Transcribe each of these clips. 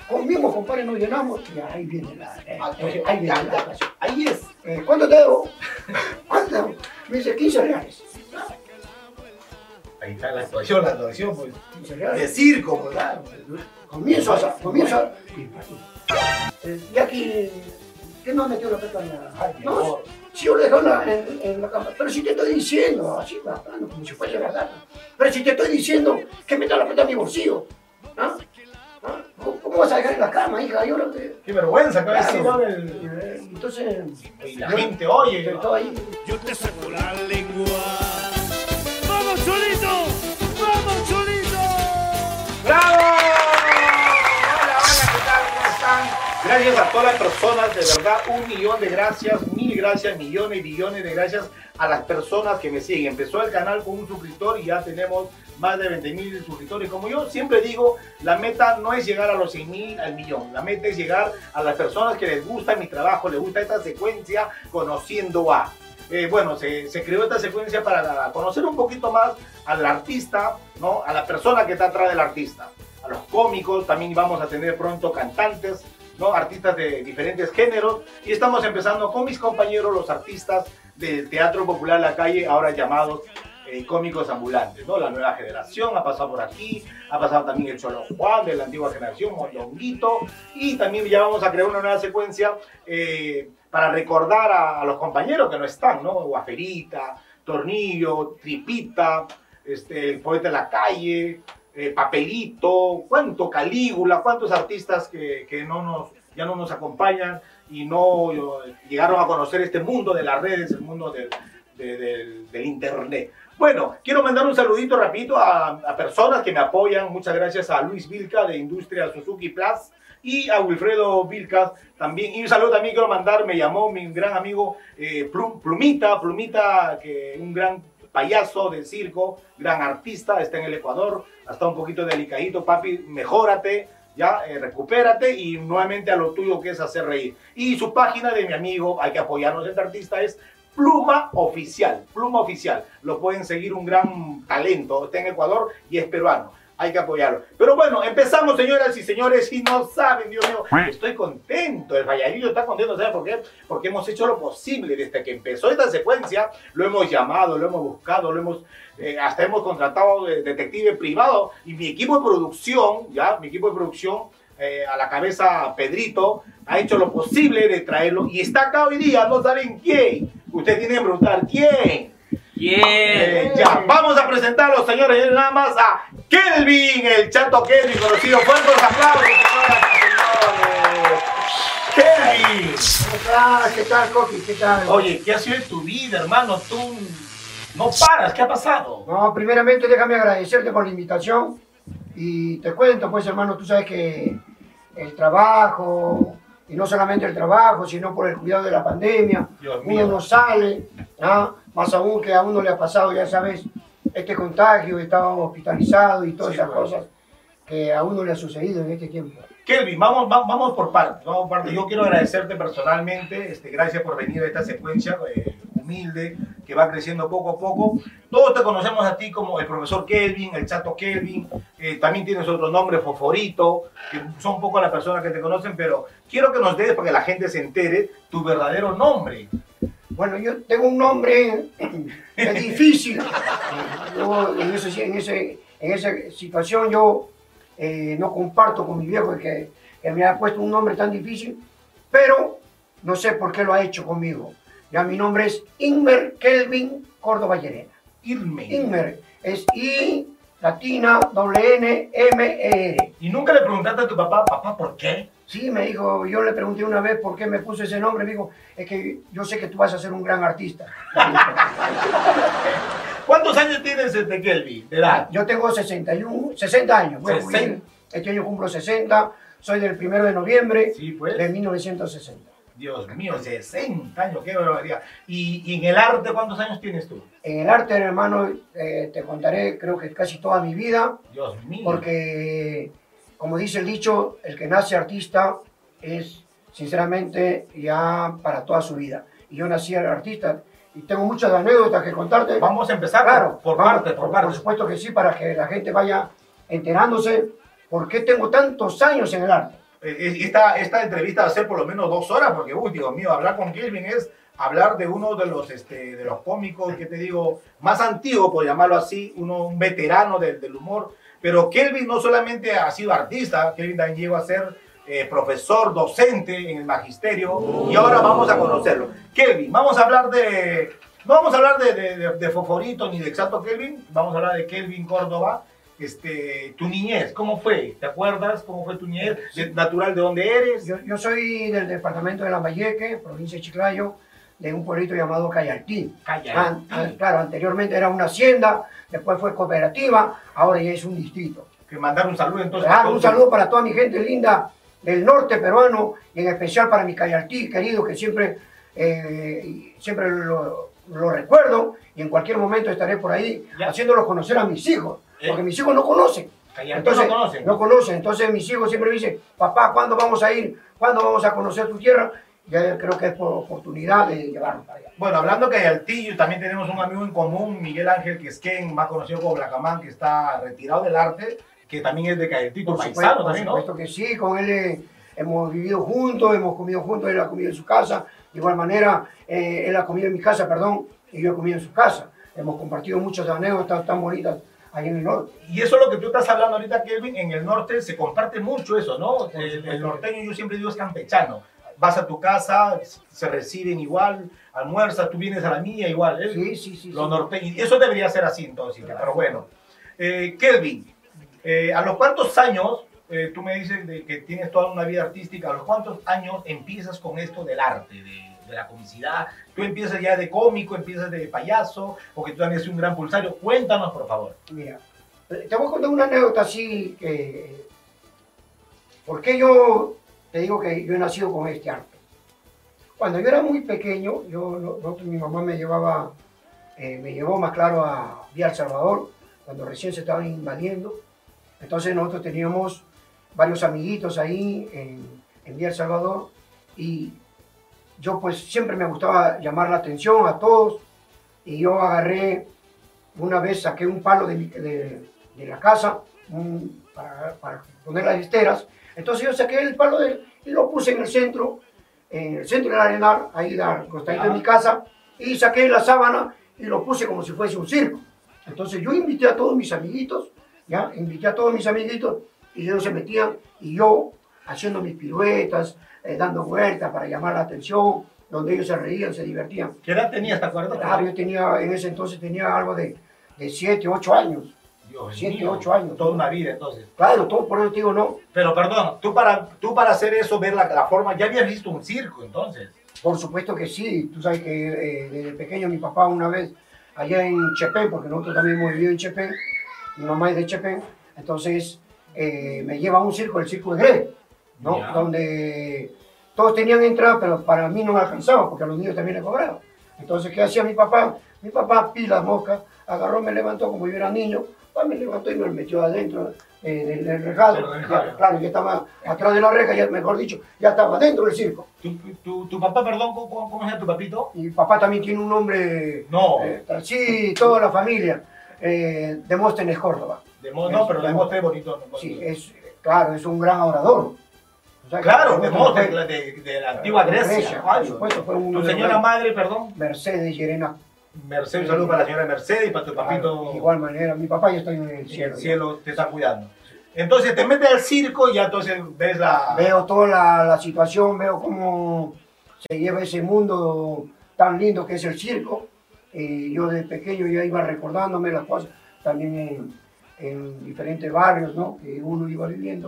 Con mismo, compadre, nos llenamos y ahí viene ahí viene la ocasión. Ahí es. ¿Cuánto te debo? ¿Cuánto te debo? Me dice 15 reales. Ahí está la actuación, pues. 15 reales. De circo, pues. Claro. Comienzo. Y aquí, ¿qué no metió la plata en la... No, si yo le dejo en la cama, pero si te estoy diciendo, así hablando como si fuese verdad, pero si te estoy diciendo que meta la plata en mi bolsillo, ¿ah? ¿Ah? ¿Cómo vas a dejar en la cama, hija? Yo no te... Qué vergüenza, Claro. Entonces, y la gente oye. Yo te saco la lengua. ¡Vamos, Cholito! ¡Vamos, Cholito! ¡Bravo! Hola, ¿qué tal? ¿Cómo están? Gracias a todas las personas, de verdad, 1.000.000 de gracias, 1000 gracias, millones y billones de gracias a las personas que me siguen. Empezó el canal con un suscriptor y ya tenemos más de 20.000 suscriptores. Como yo siempre digo, la meta no es llegar a los 100.000, al millón. La meta es llegar a las personas que les gusta mi trabajo, les gusta esta secuencia Conociendo a. Bueno, se creó esta secuencia para conocer un poquito más al artista, ¿no? A la persona que está atrás del artista, a los cómicos. También vamos a tener pronto cantantes, ¿no? Artistas de diferentes géneros, y estamos empezando con mis compañeros, los artistas del Teatro Popular La Calle, ahora llamados cómicos ambulantes, ¿no? La nueva generación ha pasado por aquí, ha pasado también el Cholo Juan de la antigua generación, Mondonguito, y también ya vamos a crear una nueva secuencia para recordar a los compañeros que no están, ¿no? Guaferita, Tornillo, Tripita, el Poeta de la Calle, Papelito, cuánto Calígula, cuántos artistas que ya no nos acompañan y no llegaron a conocer este mundo de las redes, el mundo del internet. Bueno, quiero mandar un saludito rapidito a personas que me apoyan. Muchas gracias a Luis Vilca de Industria Suzuki Plus y a Wilfredo Vilcas también. Y un saludo también quiero mandar, me llamó mi gran amigo Plumita, que un gran payaso de circo, gran artista, está en el Ecuador, está un poquito delicadito, papi, mejórate, ya, recupérate y nuevamente a lo tuyo que es hacer reír. Y su página de mi amigo, hay que apoyarnos, este artista es Pluma Oficial, lo pueden seguir, un gran talento, está en Ecuador y es peruano. Hay que apoyarlo. Pero bueno, empezamos, señoras y señores, y no saben, Dios mío, estoy contento, el Valladillo está contento, ¿sabes por qué? Porque hemos hecho lo posible desde que empezó esta secuencia, lo hemos llamado, lo hemos buscado, hasta hemos contratado detective privado, y mi equipo de producción, a la cabeza Pedrito, ha hecho lo posible de traerlo, y está acá hoy día, no saben quién. Ustedes tienen que preguntar, ¿quién? Ya, vamos a presentar a los señores, nada más a Kelvin, el Chato Kelvin, conocido. Fuertes aplausos, señoras y señores. Kelvin. ¿Qué tal, Coqui? ¿Qué tal? Oye, ¿qué ha sido de tu vida, hermano? Tú no paras, ¿qué ha pasado? No, primeramente déjame agradecerte por la invitación y te cuento, pues, hermano, tú sabes que el trabajo, y no solamente el trabajo, sino por el cuidado de la pandemia, uno no sale, ¿ah? Más aún que a uno le ha pasado, ya sabes, este contagio, estaba hospitalizado y todas esas cosas que a uno le ha sucedido en este tiempo. Kelvin, vamos por partes, Yo quiero agradecerte personalmente, gracias por venir a esta secuencia humilde que va creciendo poco a poco. Todos te conocemos a ti como el profesor Kelvin, el Chato Kelvin, también tienes otro nombre, Foforito, que son pocas las personas que te conocen, pero quiero que nos des, para que la gente se entere, tu verdadero nombre. Bueno, yo tengo un nombre difícil. Yo, en esa situación yo no comparto con mi viejo que me ha puesto un nombre tan difícil, pero no sé por qué lo ha hecho conmigo. Ya mi nombre es Inmer Kelvin Córdoba Llerena. Inmer es I latina W-N-M-E-R. ¿Y nunca le preguntaste a tu papá, por qué? Sí, me dijo, yo le pregunté una vez por qué me puse ese nombre, me dijo, es que yo sé que tú vas a ser un gran artista. ¿Cuántos años tienes, Kelvin, de edad? Yo tengo 60 años. Bueno, este año cumplo 60, soy del 1 de noviembre de 1960. Dios mío, 60 años, qué barbaridad. ¿Y en el arte cuántos años tienes tú? En el arte, hermano, te contaré, creo que casi toda mi vida. Dios mío. Porque, como dice el dicho, el que nace artista es, sinceramente, ya para toda su vida. Y yo nací artista y tengo muchas anécdotas que contarte. Vamos a empezar, claro, por parte. Por supuesto que sí, para que la gente vaya enterándose por qué tengo tantos años en el arte. Esta entrevista va a ser por lo menos 2 horas, porque, uy, Dios mío, hablar con Kelvin es hablar de uno de los cómicos, que te digo, más antiguo, por llamarlo así, un veterano del humor. Pero Kelvin no solamente ha sido artista, Kelvin también llegó a ser profesor, docente en el magisterio, y ahora vamos a conocerlo. Kelvin, vamos a hablar no vamos a hablar de Foforito ni de Exacto Kelvin, vamos a hablar de Kelvin Córdoba. Tu niñez, ¿cómo fue? ¿Te acuerdas cómo fue tu niñez? ¿Natural de dónde eres? Yo soy del departamento de Lambayeque, provincia de Chiclayo, de un pueblito llamado Cayaltí. Claro, anteriormente era una hacienda, después fue cooperativa, ahora ya es un distrito. Que mandar un saludo entonces. Un saludo para toda mi gente linda del norte peruano, y en especial para mi Cayaltí querido, que siempre lo recuerdo, y en cualquier momento estaré por ahí haciéndolos conocer a mis hijos. Porque mis hijos no conocen. Entonces, no conocen. Entonces mis hijos siempre me dicen, papá, ¿cuándo vamos a ir? ¿Cuándo vamos a conocer tu tierra? Ya creo que es por oportunidad de llevarnos para allá. Bueno, hablando que Cayaltillo, también tenemos un amigo en común, Miguel Ángel Quesquén, más conocido como Blacamán, que está retirado del arte, que también es de Cayaltillo, paisano también, ¿no? Por supuesto que sí, con él hemos vivido juntos, hemos comido juntos, él ha comido en su casa, de igual manera, él ha comido en mi casa, perdón, y yo he comido en su casa. Hemos compartido muchas anécdotas tan bonitas ahí en el norte. Y eso es lo que tú estás hablando ahorita, Kelvin. En el norte se comparte mucho eso, ¿no? El norteño, yo siempre digo, es campechano. Vas a tu casa, se reciben igual, almuerzas, tú vienes a la mía igual. Sí. Los norteños, eso debería ser así entonces, claro. Pero bueno. Kelvin, ¿a los cuántos años, tú me dices que tienes toda una vida artística, a los cuántos años empiezas con esto del arte, de la comicidad? ¿Tú empiezas ya de cómico, empiezas de payaso, o que tú también eres un gran pulsario? Cuéntanos, por favor. Mira, te voy a contar una anécdota así que... ¿Por qué yo te digo que yo he nacido con este arte? Cuando yo era muy pequeño, mi mamá me llevó más claro a Villa El Salvador, cuando recién se estaban invadiendo. Entonces nosotros teníamos varios amiguitos ahí en Villa El Salvador, y yo pues siempre me gustaba llamar la atención a todos, y yo agarré, una vez saqué un palo de la casa para poner las esteras. Entonces yo saqué el palo y lo puse en el centro del arenal, ahí al costadito de mi casa, y saqué la sábana y lo puse como si fuese un circo. Entonces yo invité a todos mis amiguitos, y ellos se metían, y yo haciendo mis piruetas, dando vueltas para llamar la atención, donde ellos se reían, se divertían. ¿Qué edad tenías, te acuerdas? Claro, en ese entonces tenía algo de 7, 8 años. Dios 7, mío, 8 años. Toda una vida, entonces. Claro, todo por eso te digo, no. Pero perdón, tú para hacer eso, ver la forma, ya habías visto un circo, entonces. Por supuesto que sí. Tú sabes que desde pequeño mi papá una vez, allá en Chepén, porque nosotros también hemos vivido en Chepén, mi mamá es de Chepén, entonces me lleva a un circo, el Circo de Grey, ¿no? Donde todos tenían entrada, pero para mí no me alcanzaba, porque a los niños también les cobraban. Entonces, ¿qué hacía mi papá? Mi papá, pilas moscas, agarró, me levantó como yo era niño, me levantó y me metió adentro del rejado. Claro, yo estaba atrás de la reja, ya, mejor dicho, ya estaba dentro del circo. ¿Tu papá, perdón, cómo se llama tu papito? Mi papá también tiene un nombre... No. Sí, toda la familia. Demóstenes Córdoba. No, pero Demóstenes bonito. Sí, claro, es un gran orador. O sea, claro, Demóstenes de la antigua Grecia. Por supuesto, fue ¿Tu señora madre, perdón? Mercedes Llerena. Mercedes, un saludo para la señora Mercedes y para tu papito. De igual manera, mi papá ya está en el cielo. El cielo te está cuidando. Entonces te metes al circo y ya entonces ves Veo toda la situación, veo cómo se lleva ese mundo tan lindo que es el circo. Yo de pequeño ya iba recordándome las cosas, también en diferentes barrios, ¿no? Que uno iba viendo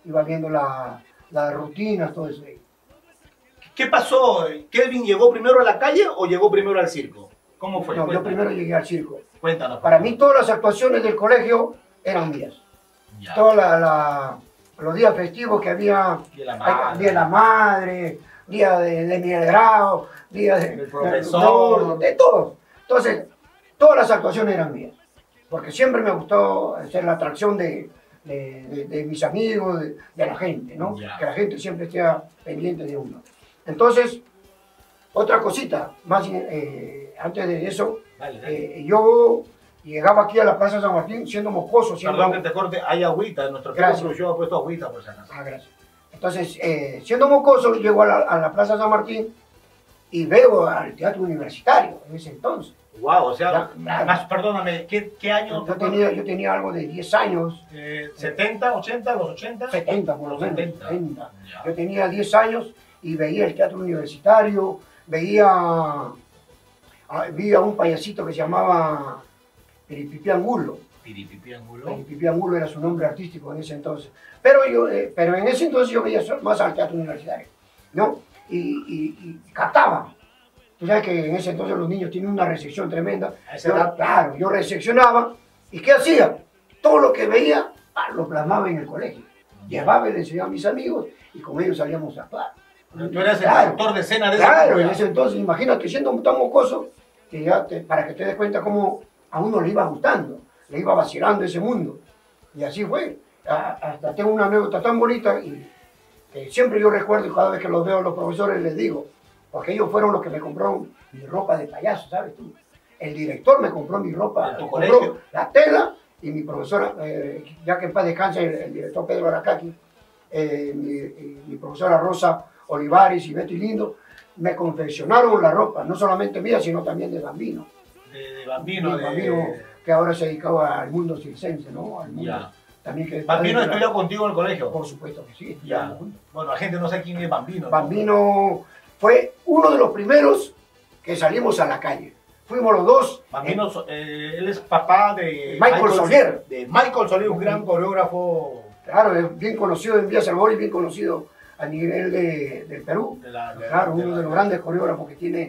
las rutinas, todo eso. ¿Qué pasó? ¿Kelvin llegó primero a la calle o llegó primero al circo? ¿Cómo fue? No, yo primero llegué al circo. Cuéntanos. Para mí todas las actuaciones del colegio eran mías. Todos los días festivos que había, Día de la Madre, Día de mi grado, Día del profesor, de todos. Entonces, todas las actuaciones eran mías, porque siempre me gustó ser la atracción de mis amigos, de la gente, ¿no? Que la gente siempre esté pendiente de uno. Entonces, otra cosita, más antes de eso, yo llegaba aquí a la Plaza San Martín siendo mocoso. Perdón que te corte, hay agüita, nuestro equipo ha puesto agüita por si acaso. Gracias. Entonces, siendo mocoso, llego a la Plaza San Martín y veo al Teatro Universitario en ese entonces. Wow, o sea, Ya, más, perdóname, ¿qué año? Yo tenía algo de 10 años. 70, 80, los 80. 70 por lo menos. 70. 70. Ya. Yo tenía 10 años y veía el Teatro Universitario, vi a un payasito que se llamaba Piripipi Angulo. Piripipi Angulo. Piripipi Angulo era su nombre artístico en ese entonces. Pero en ese entonces yo veía más al Teatro Universitario, ¿no? Y captaba. Tú sabes que en ese entonces los niños tienen una recepción tremenda. A esa edad. Claro, yo recepcionaba. ¿Y qué hacía? Todo lo que veía lo plasmaba en el colegio. Llevaba y le enseñaba a mis amigos y con ellos salíamos a actuar. Tú eras el Claro. actor de escena de Claro, en esa ese entonces, imagínate, siendo tan mocoso, que para que te des cuenta cómo a uno le iba gustando, le iba vacilando ese mundo. Y así fue. Hasta tengo una anécdota tan bonita y que siempre yo recuerdo y cada vez que los veo a los profesores les digo, porque ellos fueron los que me compraron mi ropa de payaso, ¿sabes tú? El director me compró mi ropa, ¿De tu me colegio? compró la tela y mi profesora, ya que en paz descanse el director Pedro Aracaki, mi profesora Rosa Olivares y Betty Lindo, me confeccionaron la ropa, no solamente mía, sino también de Bambino. de Bambino. De Bambino, que ahora se dedicaba al mundo circense, ¿no? Al mundo, Ya. también que ¿Bambino estudió contigo en el colegio? Por supuesto que sí, Ya. estudiamos juntos. Bueno, la gente no sabe quién es Bambino. ¿no? Bambino fue uno de los primeros que salimos a la calle. Fuimos los dos. Bambino, él es papá de Michael Solier. De Michael Solier, un gran coreógrafo. Claro, es bien conocido en Villa Salvador y bien conocido a nivel del Perú. Claro, uno de los grandes coreógrafos que tiene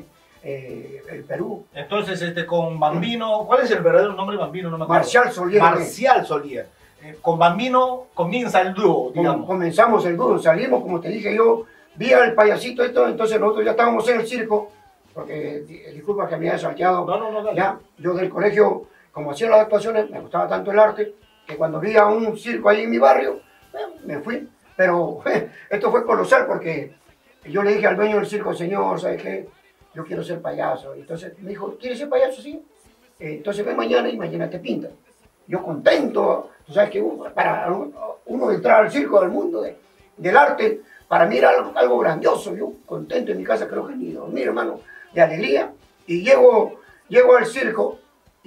el Perú. Entonces, con Bambino, ¿cuál es el verdadero nombre de Bambino? No me acuerdo. Marcial Solier. Marcial Solier. Con Bambino comienza el dúo, digamos. Comenzamos el dúo, salimos, como te dije yo, vi al payasito esto, entonces nosotros ya estábamos en el circo, porque disculpa que me haya salteado. No, dale. Ya, yo del colegio, como hacía las actuaciones, me gustaba tanto el arte, que cuando vi a un circo ahí en mi barrio, me fui. Pero esto fue colosal porque yo le dije al dueño del circo, señor, ¿sabes qué? Yo quiero ser payaso. Entonces me dijo, ¿quieres ser payaso? Sí. Entonces ven mañana y mañana te pintan. Yo contento, tú sabes que para uno entrar al circo, del mundo del arte, para mí era algo grandioso. Yo contento en mi casa, creo que ni dormir, hermano, de alegría. Y llego al circo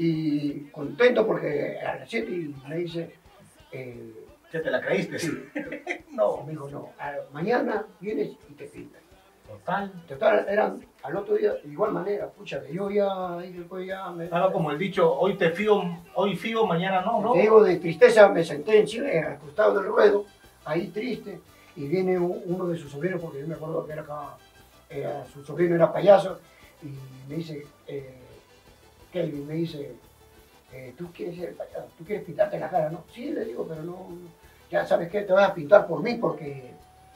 y contento porque a las 7 y me dice... ¿Qué te la creíste? Sí. No, me dijo, no, mañana vienes y te pintas. Total. Eran al otro día, de igual manera, pucha, que yo ya, ahí después ya me... Estaba como el dicho, hoy fío, mañana no. Te digo, de tristeza me senté en Chile, al costado del ruedo, ahí triste, y viene uno de sus sobrinos, porque yo me acuerdo que era acá, su sobrino era payaso, y me dice, Kelvin, me dice, ¿tú quieres ser payaso? ¿Tú quieres pintarte la cara? No, sí, le digo, pero no, ya sabes qué, te vas a pintar por mí, porque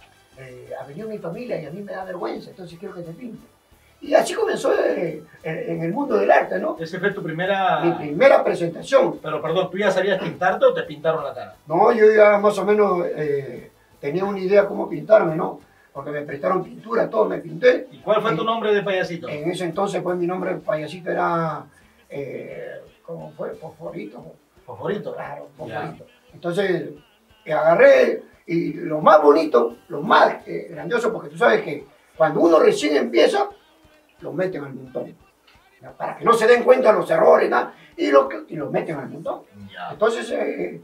ha venido mi familia y a mí me da vergüenza, entonces quiero que te pinte. Y así comenzó en el mundo del arte, ¿no? Esa fue tu primera... Mi primera presentación. Pero perdón, ¿tú ya sabías pintarte o te pintaron la cara? No, yo ya más o menos tenía una idea cómo pintarme, ¿no? Porque me prestaron pintura, todo, me pinté. ¿Y cuál fue tu nombre de payasito? En ese entonces, pues mi nombre de payasito era, ¿cómo fue? Fosforito. Fosforito. Claro, Ya. Fosforito. Entonces, agarré, y lo más bonito, lo más grandioso, porque tú sabes que cuando uno recién empieza, lo meten al montón. ¿Ya? Para que no se den cuenta los errores, nada, y lo meten al montón. Ya. Entonces,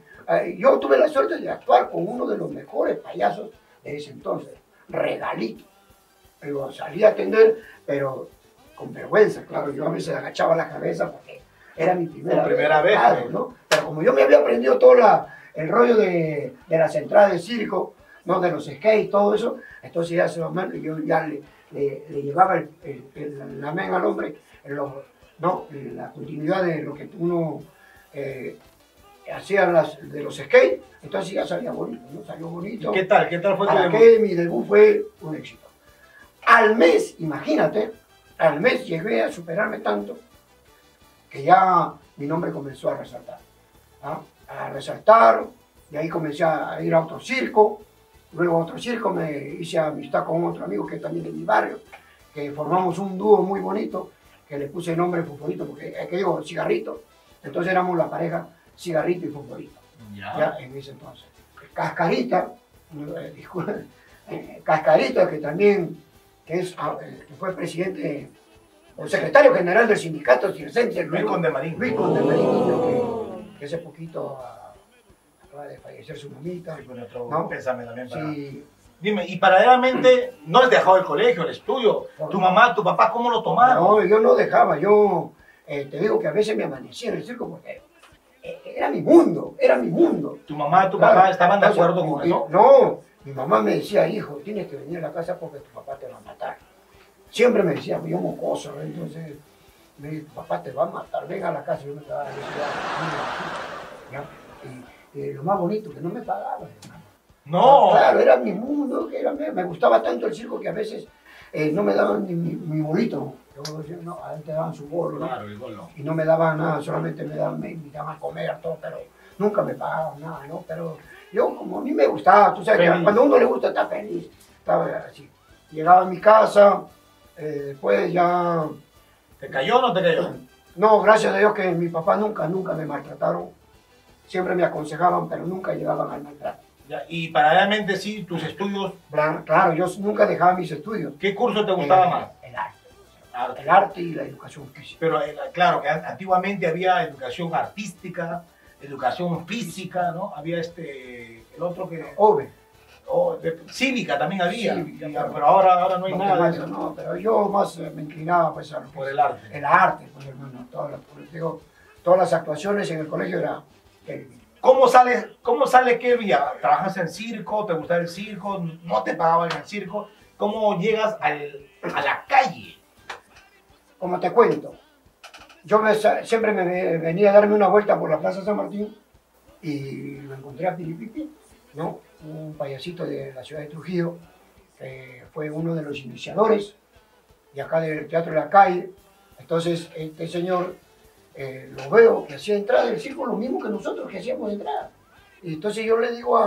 yo tuve la suerte de actuar con uno de los mejores payasos de ese entonces, Regalito. Lo salí a atender, pero con vergüenza, claro. Yo a veces agachaba la cabeza porque era mi primera vez, claro, ¿no? Pero como yo me había aprendido todo el rollo de las entradas de circo, ¿no? De los skates, todo eso, entonces ya yo ya le llevaba la men al hombre, la continuidad de lo que uno hacía de los skates, entonces ya salía bonito, ¿no? Salió bonito. ¿Qué tal? ¿Qué tal fue tu Para debut? que mi debut fue un éxito. Al mes, imagínate, al mes llegué a superarme tanto que ya mi nombre comenzó a resaltar. ¿Ah? A resaltar, de ahí comencé a ir a otro circo, luego a otro circo me hice amistad con otro amigo que es también de mi barrio, que formamos un dúo muy bonito, que le puse el nombre Fosforito, porque que digo, Cigarrito, entonces éramos la pareja Cigarrito y Fosforito, ya en ese entonces. Cascarita, disculpe, Cascarita, que también que fue presidente o secretario general del sindicato circense, Luis Condemarín. Luis Condemarín, que hace poquito acaba de fallecer su mamita. Sí, con nuestro ¿no? pésame también para... Sí. Dime, y paralelamente no has dejado el colegio, el estudio. Tu mamá, tu papá, ¿cómo lo tomaron? No, yo no dejaba, te digo que a veces me amanecía en el circo porque era mi mundo, era mi mundo. ¿Tu mamá y tu Claro. papá estaban de Entonces, acuerdo con y- eso? No, mi mamá me decía, hijo, tienes que venir a la casa porque tu papá te va a matar. Siempre me decía, yo mocoso, ¿no? Entonces me dijo, tu papá te va a matar, ven a la casa. Yo me quedaba, y lo más bonito, que no me pagaban, hermano. No. Claro, era mi mundo, que me gustaba tanto el circo que a veces no me daban ni mi bolito. Yo decía, no, a él te daban su bolo, ¿no? Claro, el golo. Y no me daban nada, solamente me invitaban a comer, todo, pero nunca me pagaban nada, ¿no? Pero yo, como a mí me gustaba, tú sabes, que Feliz. cuando a uno le gusta, está feliz. Estaba así. Llegaba a mi casa, después ya... ¿Te cayó o no te cayó? No, gracias a Dios que mi papá nunca me maltrataron. Siempre me aconsejaban, pero nunca llegaban al maltrato. Ya, y paralelamente sí, tus estudios, Claro, yo nunca dejaba mis estudios. ¿qué curso te gustaba más? El arte. Arte. El arte y la educación física. Pero claro, que antiguamente había educación artística, educación física, ¿no? Había el otro que... Ove. Cívica también había, Cívica, ya, pero ahora no hay nada de Matemáticas, eso. no, pero yo más me inclinaba pues a lo que Por es el arte. el arte, pues hermano, todas las actuaciones en el colegio era Kelvin. ¿Cómo sale Kelvin? ¿Trabajas en circo? ¿Te gusta el circo? ¿No te pagaban en el circo? ¿Cómo llegas a la calle? Como te cuento, yo siempre me venía a darme una vuelta por la Plaza San Martín y lo encontré a Piripipi, ¿no? Un payasito de la ciudad de Trujillo, que fue uno de los iniciadores de acá del Teatro de la Calle. Entonces, este señor lo veo que hacía entrada del circo lo mismo que nosotros que hacíamos entrada. Y entonces yo le digo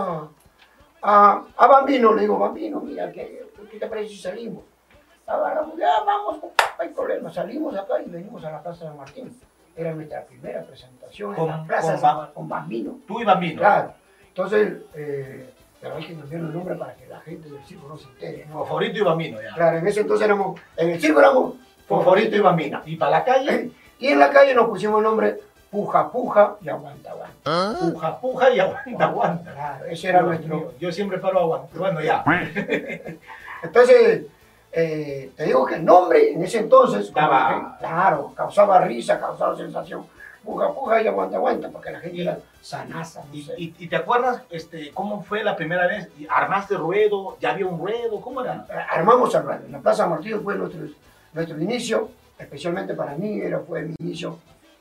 a Bambino, le digo, Bambino, mira, ¿qué te parece si salimos? Agarramos, ya vamos, no hay problema, salimos acá y venimos a la Plaza San Martín. Era nuestra primera presentación en la Plaza con Bambino. Tú y Bambino. Claro. Entonces, pero hay que cambiar el nombre para que la gente del circo no se entere, ¿no? Foforito y Bambino, ya. Claro, en ese entonces en el circo éramos Foforito y Bambino. ¿Y para la calle? Y en la calle nos pusimos el nombre Puja Puja y Aguanta Aguanta. Puja, puja y aguanta, aguanta. Claro, ese era nuestro... Yo siempre paro a aguantar. Bueno, ya. Entonces, te digo que el nombre en ese entonces, Daba... claro, causaba risa, causaba sensación. Puja Puja y Aguanta Aguanta, porque la gente era sanaza, no sé. ¿Y te acuerdas cómo fue la primera vez? ¿Armaste ruedo? ¿Ya había un ruedo? ¿Cómo era? Armamos el ruedo. En la Plaza Martín fue nuestro inicio, especialmente para mí, fue mi inicio,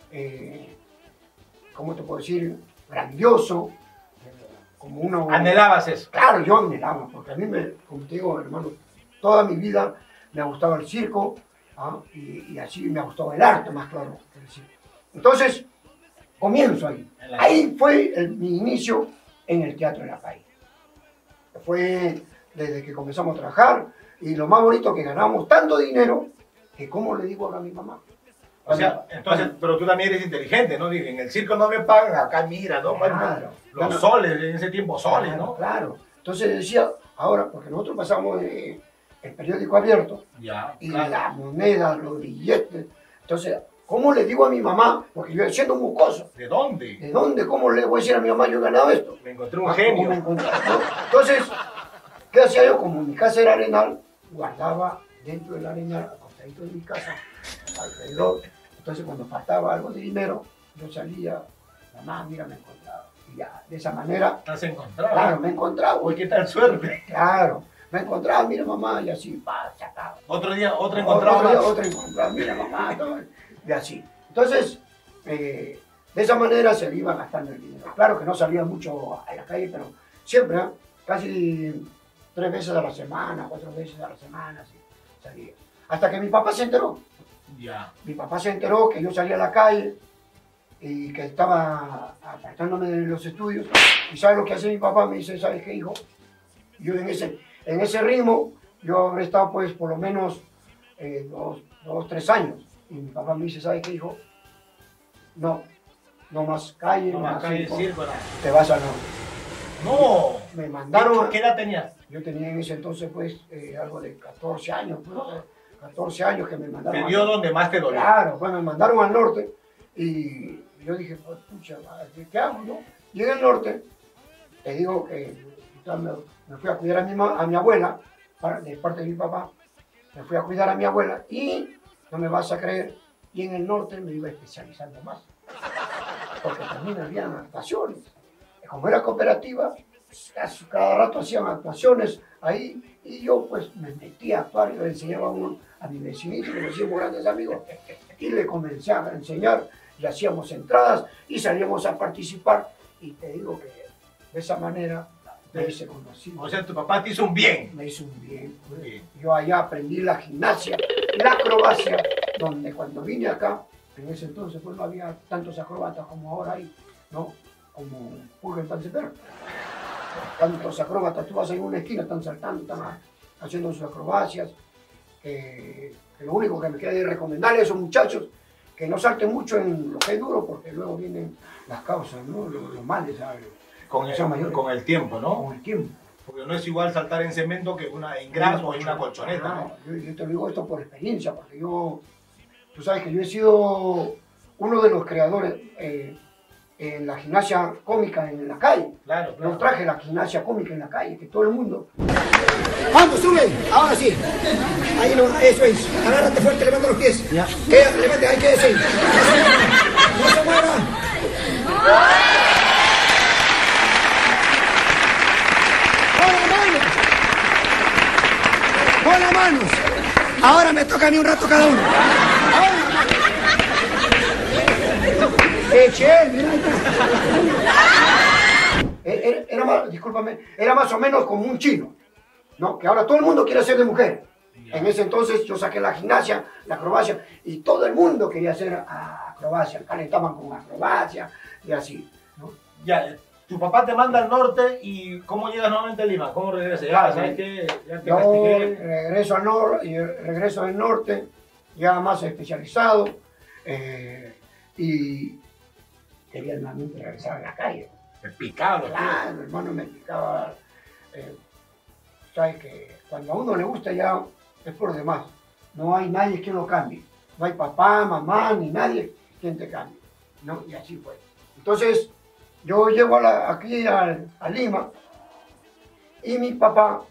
¿cómo te puedo decir? Grandioso, como uno... ¿Anhelabas eso? Claro, yo anhelaba, porque a mí, como te digo, hermano, toda mi vida me ha gustado el circo, y así me ha gustado el arte, más claro que el circo. Entonces, comienzo ahí. Ahí fue mi inicio en el Teatro de la Calle. Fue desde que comenzamos a trabajar, y lo más bonito que ganamos tanto dinero, que como le digo ahora a mi mamá. O sea, entonces, pero tú también eres inteligente, ¿no? Dije, en el circo no me pagan, acá mira, ¿no? Claro. Los soles, en ese tiempo soles, ¿no? Claro. Entonces decía, ahora, porque nosotros pasamos el periódico abierto, Ya, y claro. las monedas, los billetes. Entonces, ¿cómo le digo a mi mamá? Porque yo siendo un mocoso. ¿De dónde? ¿De dónde? ¿Cómo le voy a decir a mi mamá yo he ganado esto? Me encontré un ¿Cómo genio. me encontré, no? Entonces, ¿qué hacía yo? Como mi casa era arenal, guardaba dentro del arenal, acostadito de mi casa, alrededor. Entonces, cuando faltaba algo de dinero, yo salía, mamá, mira, me encontraba. Y ya, de esa manera, ¿Estás encontrado? claro, me encontraba. Uy, qué tal suerte. Claro, me encontraba, mira, mamá, y así, pa, se acaba. Otro día, otro encontrado Otro día, más. otro encontraba, mira, mamá, todo, y así. Entonces, de esa manera se iba gastando el dinero. Claro que no salía mucho a la calle, pero siempre, casi 3 veces a la semana, 4 veces a la semana, así, salía. Hasta que mi papá se enteró. Ya. Mi papá se enteró que yo salía a la calle y que estaba apartándome de los estudios. ¿Y sabes lo que hace mi papá? Me dice, ¿sabes qué, hijo? Yo en ese ritmo, yo habré estado pues por lo menos 2, 3 años. Y mi papá me dice, ¿sabes qué, hijo? No más calle, No más calle, circo, no. te vas a la... No. Me mandaron... ¿Qué edad tenías? Yo tenía en ese entonces, pues, algo de 14 años, pues, 14 años que me mandaron. Te dio donde más te dolió. Claro, pues me mandaron al norte y yo dije, pues, pucha, ¿qué hago, no? Llegué al norte, te digo que me fui a cuidar a mi abuela, de parte de mi papá, me fui a cuidar a mi abuela y, no me vas a creer, y en el norte me iba especializando más, porque también había actuaciones. Como era cooperativa, cada rato hacían actuaciones ahí y yo pues me metí a actuar y le enseñaba a mi vecinito, que nos hicimos grandes amigos, y le comencé a enseñar y hacíamos entradas y salíamos a participar y te digo que de esa manera me hice conocido. O sea, tu papá te hizo un bien. Me hizo un bien. Pues. Bien. Yo allá aprendí la gimnasia, la acrobacia, donde cuando vine acá, en ese entonces pues no había tantos acróbatas como ahora hay, ¿no? Como Pulga en Pancetero. Tantos acróbatas, tú vas en una esquina, están saltando, están haciendo sus acrobacias. Que lo único que me queda de recomendarles a esos muchachos que no salten mucho en lo que es duro, porque luego vienen las causas, ¿no? Los males, ¿sabes? Con el tiempo, ¿no? Con el tiempo. Porque no es igual saltar en cemento que en gras o en una colchoneta, ¿no? Yo te digo esto por experiencia, porque tú sabes que yo he sido uno de los creadores en la gimnasia cómica en la calle. Claro, claro. Yo traje la gimnasia cómica en la calle, que todo el mundo... ¡Vamos, sube! Ahora sí. Ahí no, eso es. Agárrate fuerte, levanta los pies. Ya. Levante, ahí quédese. No se mueva. Con las manos. Ahora me toca a mí un rato cada uno. Mira, discúlpame, era más o menos como un chino, ¿no? Que ahora todo el mundo quiere ser de mujer. En ese entonces yo saqué la gimnasia, la acrobacia, y todo el mundo quería hacer acrobacia, calentaban con acrobacia y así, ¿no? Ya, tu papá te manda al norte y ¿cómo llegas nuevamente a Lima? ¿Cómo regresas? Ya, ¿sabes qué? Ya te yo castigué. regreso al norte, y regreso del norte, ya más especializado, y quería nuevamente regresar a la calle. Me picaba, Claro, hermano, me picaba. Sabes que cuando a uno le gusta ya es por demás. No hay nadie que lo cambie. No hay papá, mamá, ni nadie quien te cambie, ¿no? Y así fue. Entonces, yo llego aquí a Lima y mi papá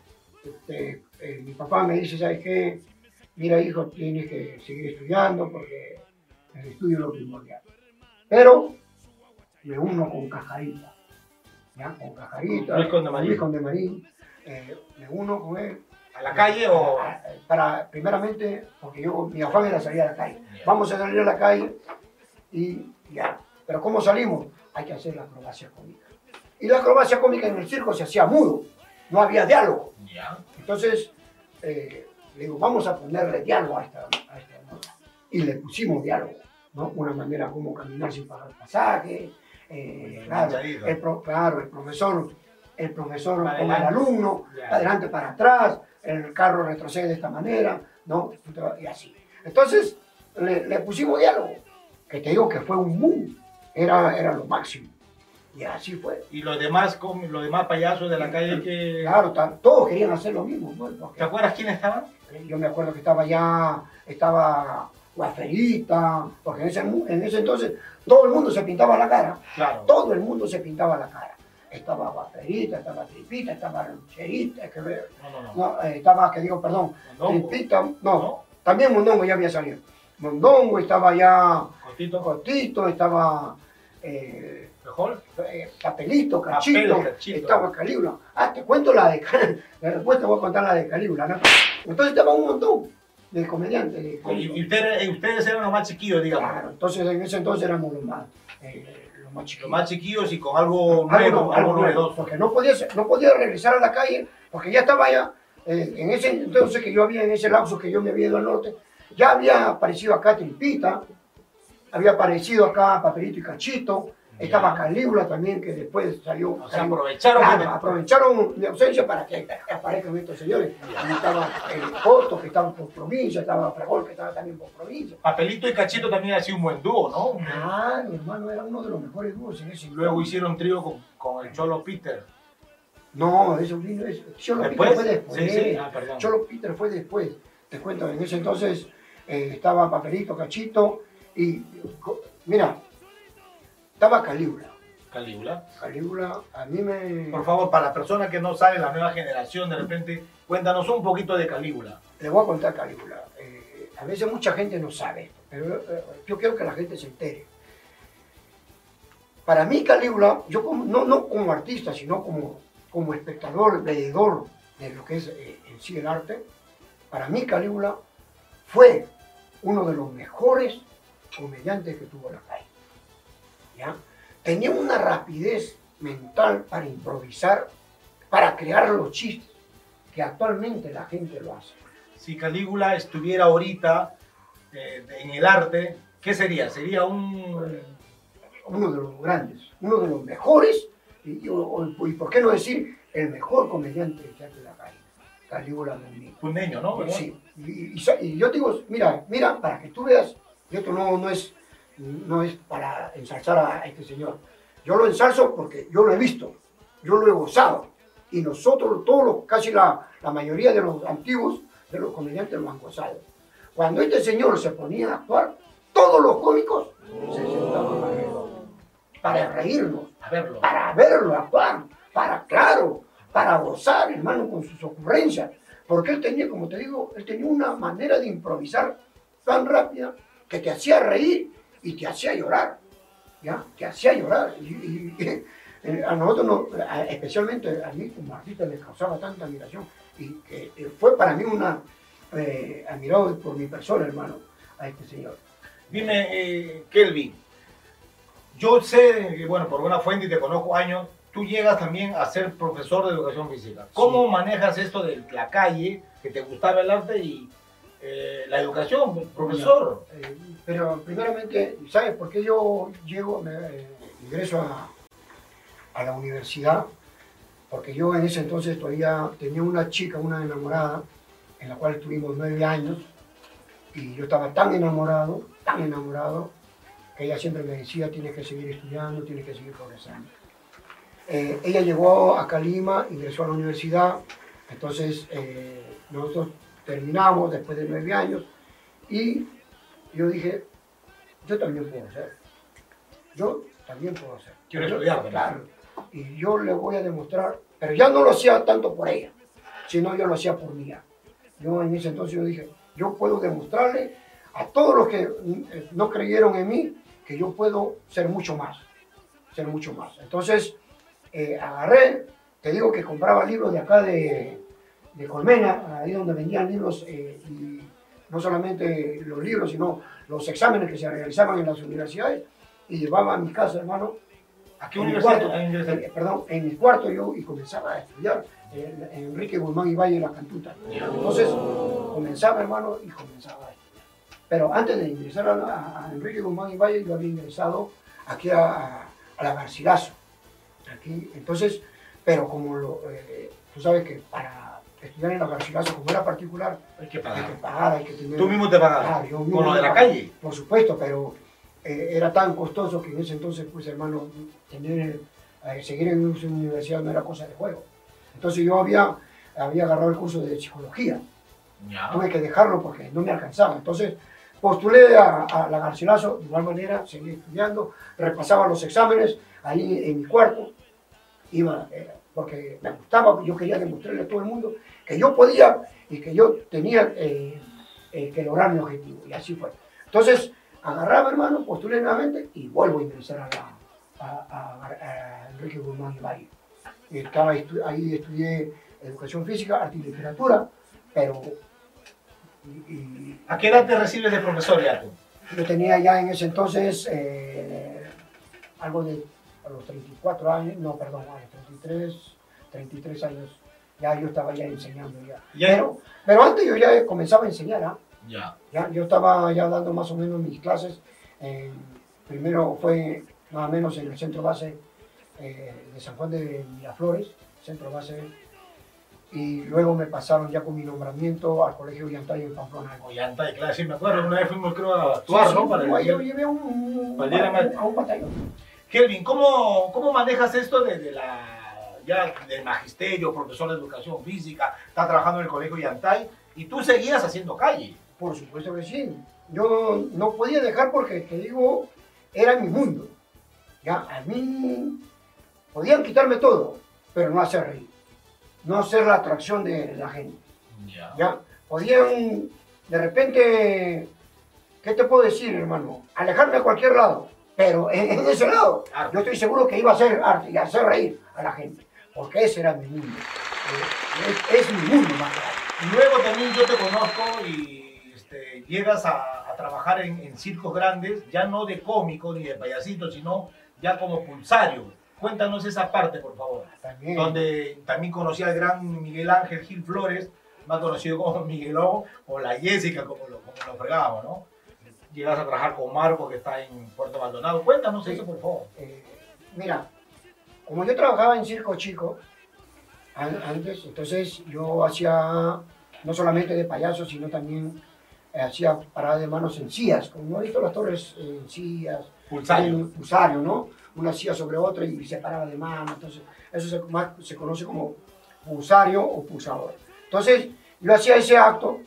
me dice, ¿sabes qué? Mira, hijo, tienes que seguir estudiando porque el estudio es lo primordial. Pero me uno con Cajarita. ¿Ya? Con Cajarita, Luis Conde Marín, me uno con él. ¿A la calle o...? Primeramente, porque mi afán era salir a la calle. Vamos a salir a la calle y ya. Pero ¿cómo salimos? Hay que hacer la acrobacia cómica. Y la acrobacia cómica en el circo se hacía mudo, no había diálogo. Entonces, le digo, vamos a ponerle diálogo a esta nota. Y le pusimos diálogo, ¿no? Una manera como caminar sin pagar pasaje. Claro, el profesor con el alumno, adelante para atrás, el carro retrocede de esta manera, ¿no? Y así. Entonces, le pusimos diálogo, que te digo que fue un boom, era lo máximo. Y así fue. Y los demás payasos de la calle que... Claro, todos querían hacer lo mismo, ¿no? Porque, ¿te acuerdas quiénes estaban? Yo me acuerdo que estaba Guaferita, porque en ese entonces todo el mundo se pintaba la cara. Claro. Todo el mundo se pintaba la cara. Estaba Guaferita, estaba Tripita, estaba Rancherita, estaba, Tripita, también Mondongo ya había salido. Mondongo, estaba ya Cotito, estaba Papelito, Cachito, estaba Calígula. Te cuento después te voy a contar la de Calígula, ¿no? Entonces estaba un montón de comediantes. Y ustedes eran los más chiquillos, digamos. Claro, entonces en ese entonces éramos los más chiquillos. Los más chiquillos y con algo nuevo, algo novedoso. Porque no podía regresar a la calle, porque ya estaba allá. En ese entonces en ese lapso que yo me había ido al norte, ya había aparecido acá Tripita, había aparecido acá Papelito y Cachito, estaba Calígula también, que después salió. O sea, aprovecharon mi ausencia para que aparezcan estos señores. Ahí estaba el Coto, que estaba por provincia, estaba Fragol, que estaba también por provincia. Papelito y Cachito también ha sido un buen dúo, ¿no? Mi hermano era uno de los mejores dúos en ese. Luego hicieron trío con el Cholo Peter. No, eso vino, Cholo ¿Después? Peter fue después. Sí, sí. Ah, perdón. Cholo Peter fue después. Te cuento, en ese entonces estaba Papelito, Cachito y, mira, estaba Calígula. Calígula. Calígula, a mí me... Por favor, para las personas que no saben, la nueva generación, de repente, cuéntanos un poquito de Calígula. Le voy a contar Calígula. A veces mucha gente no sabe esto, pero yo quiero que la gente se entere. Para mí Calígula, yo no como artista, sino como espectador, veedor de lo que es en sí el arte, para mí Calígula fue uno de los mejores comediantes que tuvo la calle. ¿Ya? Tenía una rapidez mental para improvisar, para crear los chistes, que actualmente la gente lo hace. Si Calígula estuviera ahorita en el arte, ¿qué sería? Sería Uno de los grandes, uno de los mejores, y por qué no decir el mejor comediante que hace la calle, Calígula Muñiz. pundeño, ¿no? ¿Verdad? Sí, y yo te digo, mira, para que tú veas, y esto no es para ensalzar a este señor. Yo lo ensalzo porque yo lo he visto, yo lo he gozado. Y nosotros, casi la mayoría de los antiguos, de los comediantes lo han gozado. Cuando este señor se ponía a actuar, todos los cómicos se sentaban alrededor para reírnos, para verlo actuar, para gozar, hermano, con sus ocurrencias. Porque él tenía, como te digo, él tenía una manera de improvisar tan rápida que te hacía reír y te hacía llorar, ¿ya? Te hacía llorar. A nosotros, especialmente a mí como artista, me causaba tanta admiración. Y fue para mí admirado por mi persona, hermano, a este señor. Dime, Kelvin, yo sé que, bueno, por una fuente y te conozco años, tú llegas también a ser profesor de educación física. ¿Cómo manejas esto de la calle, que te gustaba el arte y la educación, profesor? Pero primeramente, ¿sabes por qué yo ingreso a la universidad? Porque yo en ese entonces todavía tenía una chica, una enamorada, en la cual estuvimos 9 años, y yo estaba tan enamorado, que ella siempre me decía, tienes que seguir estudiando, tienes que seguir progresando. Ella llegó acá a Lima, ingresó a la universidad, entonces nosotros terminamos después de 9 años, y yo dije, yo también puedo hacer. Quiero estudiar, claro. Y yo le voy a demostrar, pero ya no lo hacía tanto por ella, sino yo lo hacía por mí. Yo en ese entonces yo dije, yo puedo demostrarle a todos los que no creyeron en mí que yo puedo ser mucho más. Entonces agarré, te digo que compraba libros de acá de Colmena, ahí donde vendían libros, y no solamente los libros, sino los exámenes que se realizaban en las universidades, y llevaba a mi casa, hermano. ¿A qué universidad? En mi cuarto yo y comenzaba a estudiar en Enrique Guzmán y Valle en la Cantuta. Entonces comenzaba, hermano, y comenzaba a estudiar. Pero antes de ingresar a Enrique Guzmán y Valle, yo había ingresado aquí a la Garcilaso. Aquí, entonces, pero como tú sabes que para estudiar en la Garcilaso, como era particular, hay que pagar, hay que tener... ¿Tú mismo te pagabas? ¿Con lo de la calle? Por supuesto, pero era tan costoso que en ese entonces, pues hermano, seguir en una universidad no era cosa de juego. Entonces yo había agarrado el curso de psicología. Ya. Tuve que dejarlo porque no me alcanzaba. Entonces postulé a la Garcilaso, de igual manera, seguí estudiando, repasaba los exámenes ahí en mi cuarto, porque me gustaba, yo quería demostrarle a todo el mundo que yo podía y que yo tenía que lograr mi objetivo. Y así fue. Entonces, agarraba, hermano, postulé nuevamente y vuelvo a ingresar a Enrique Guzmán y Valle. Ahí estudié educación física, arte y literatura, pero... ¿A qué edad te recibes de profesor ya tú? Yo tenía ya en ese entonces algo de a los 34 años, no, perdón, a los 33 años, ya yo estaba ya enseñando ya. Pero antes yo ya comenzaba a enseñar, ¿ah? Ya, yo estaba ya dando más o menos mis clases. Primero fue nada menos en el centro base de San Juan de Miraflores, centro base, y luego me pasaron ya con mi nombramiento al Colegio Ollantay en Pamplona. Ollantay, claro, sí me acuerdo, una vez fuimos creo a actuar, ¿no? Para yo llevé a un batallón. Kelvin, ¿cómo manejas esto de ya del magisterio, profesor de educación física, está trabajando en el colegio Yantay, y tú seguías haciendo calle. Por supuesto que sí. Yo no podía dejar porque, te digo, era mi mundo. Ya, a mí podían quitarme todo, pero no hacer reír. No hacer la atracción de la gente. Ya, podían, de repente, ¿qué te puedo decir, hermano? Alejarme a cualquier lado, pero en ese lado, yo estoy seguro que iba a hacer arte y a hacer reír a la gente, porque ese era mi mundo. Es mi mundo más grande. Luego también yo te conozco y llegas a trabajar en circos grandes, ya no de cómico ni de payasito, sino ya como pulsario. Cuéntanos esa parte, por favor. También. Donde también conocí al gran Miguel Ángel Gil Flores, más conocido como Miguelón, o la Jessica, como lo fregábamos, ¿no? Llegas a trabajar con Marco, que está en Puerto Maldonado. Cuéntanos eso, por favor. Mira, como yo trabajaba en Circo Chico antes, entonces yo hacía no solamente de payaso, sino también hacía parada de manos en sillas, como no he visto las torres en sillas, pulsario, ¿no? Una silla sobre otra y se paraba de mano, entonces eso se conoce como pulsario o pulsador. Entonces yo hacía ese acto,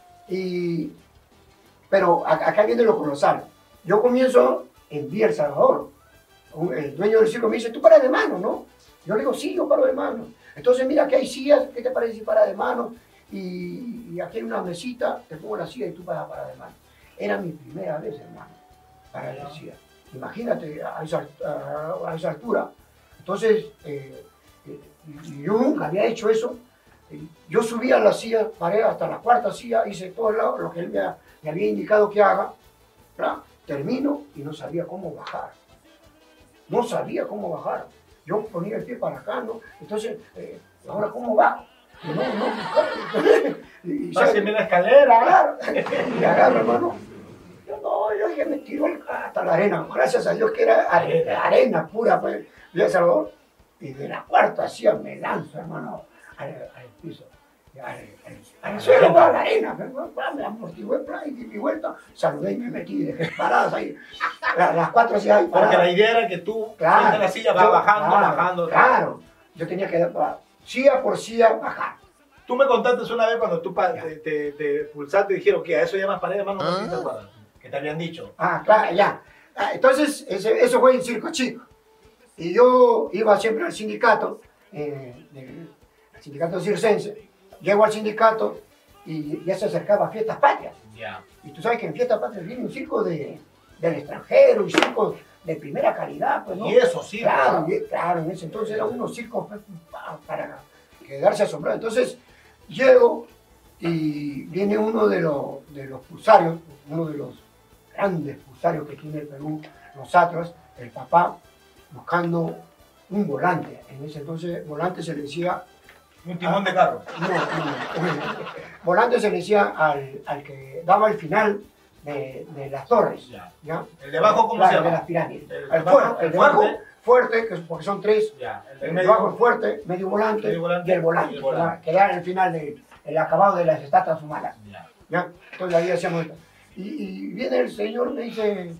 pero acá viene lo colosal. Yo comienzo en Villa El Salvador. El dueño del circo me dice, tú paras de mano, ¿no? Yo le digo, sí, yo paro de mano. Entonces mira, aquí hay sillas, ¿qué te parece si paras de mano? Y aquí hay una mesita, te pongo la silla y tú vas a parar de mano. Era mi primera vez, hermano, para la silla. Imagínate a esa altura. Entonces, yo nunca había hecho eso. Yo subí a la silla, paré hasta la cuarta silla, hice todo lo que él me había indicado que haga, ¿verdad? Termino y no sabía cómo bajar. No sabía cómo bajar. Yo ponía el pie para acá, ¿no? Entonces, ¿ahora cómo bajo? Páseme la escalera. Claro. Y agarro, hermano. Yo dije, me tiró hasta la arena. Gracias a Dios que era arena pura, pues, de El Salvador. Y de la cuarta silla me lanzo, hermano, al piso. Al suelo, a la arena. Me amortigué, y di mi vuelta. Saludé y me metí y dejé paradas ahí. Las cuatro sillas ahí paradas. Porque la idea era que tú, de la silla, vas bajando. Claro. Yo tenía que silla por silla bajar. Tú me contaste una vez cuando tú te pulsaste y dijeron que a eso llamas pared de mano, no sé si te acuerdas, que te habían dicho. Claro, ya. Entonces, eso fue en Circo Chico. Y yo iba siempre al sindicato, al sindicato circense. Llego al sindicato y ya se acercaba a Fiestas Patrias. Yeah. Y tú sabes que en Fiestas Patrias viene un circo del extranjero y circos de primera calidad. Pues, ¿no? Y eso sí. Claro, en ese entonces eran unos circos para quedarse asombrado. Entonces llego y viene uno de los pulsarios, uno de los grandes pulsarios que tiene el Perú, los Atlas, el papá, buscando un volante. En ese entonces volante se le decía... Un timón de carro. No. Volante se le decía al que daba el final de las torres. ¿Ya? ¿El de abajo cómo se llama? De las pirámides. El de abajo, fuerte, porque son tres. Ya. El de abajo es fuerte, medio volante y el volante. Que era el final el acabado de las estatuas humanas. ¿Ya? Entonces ahí hacíamos esto. Y viene el señor, me dice,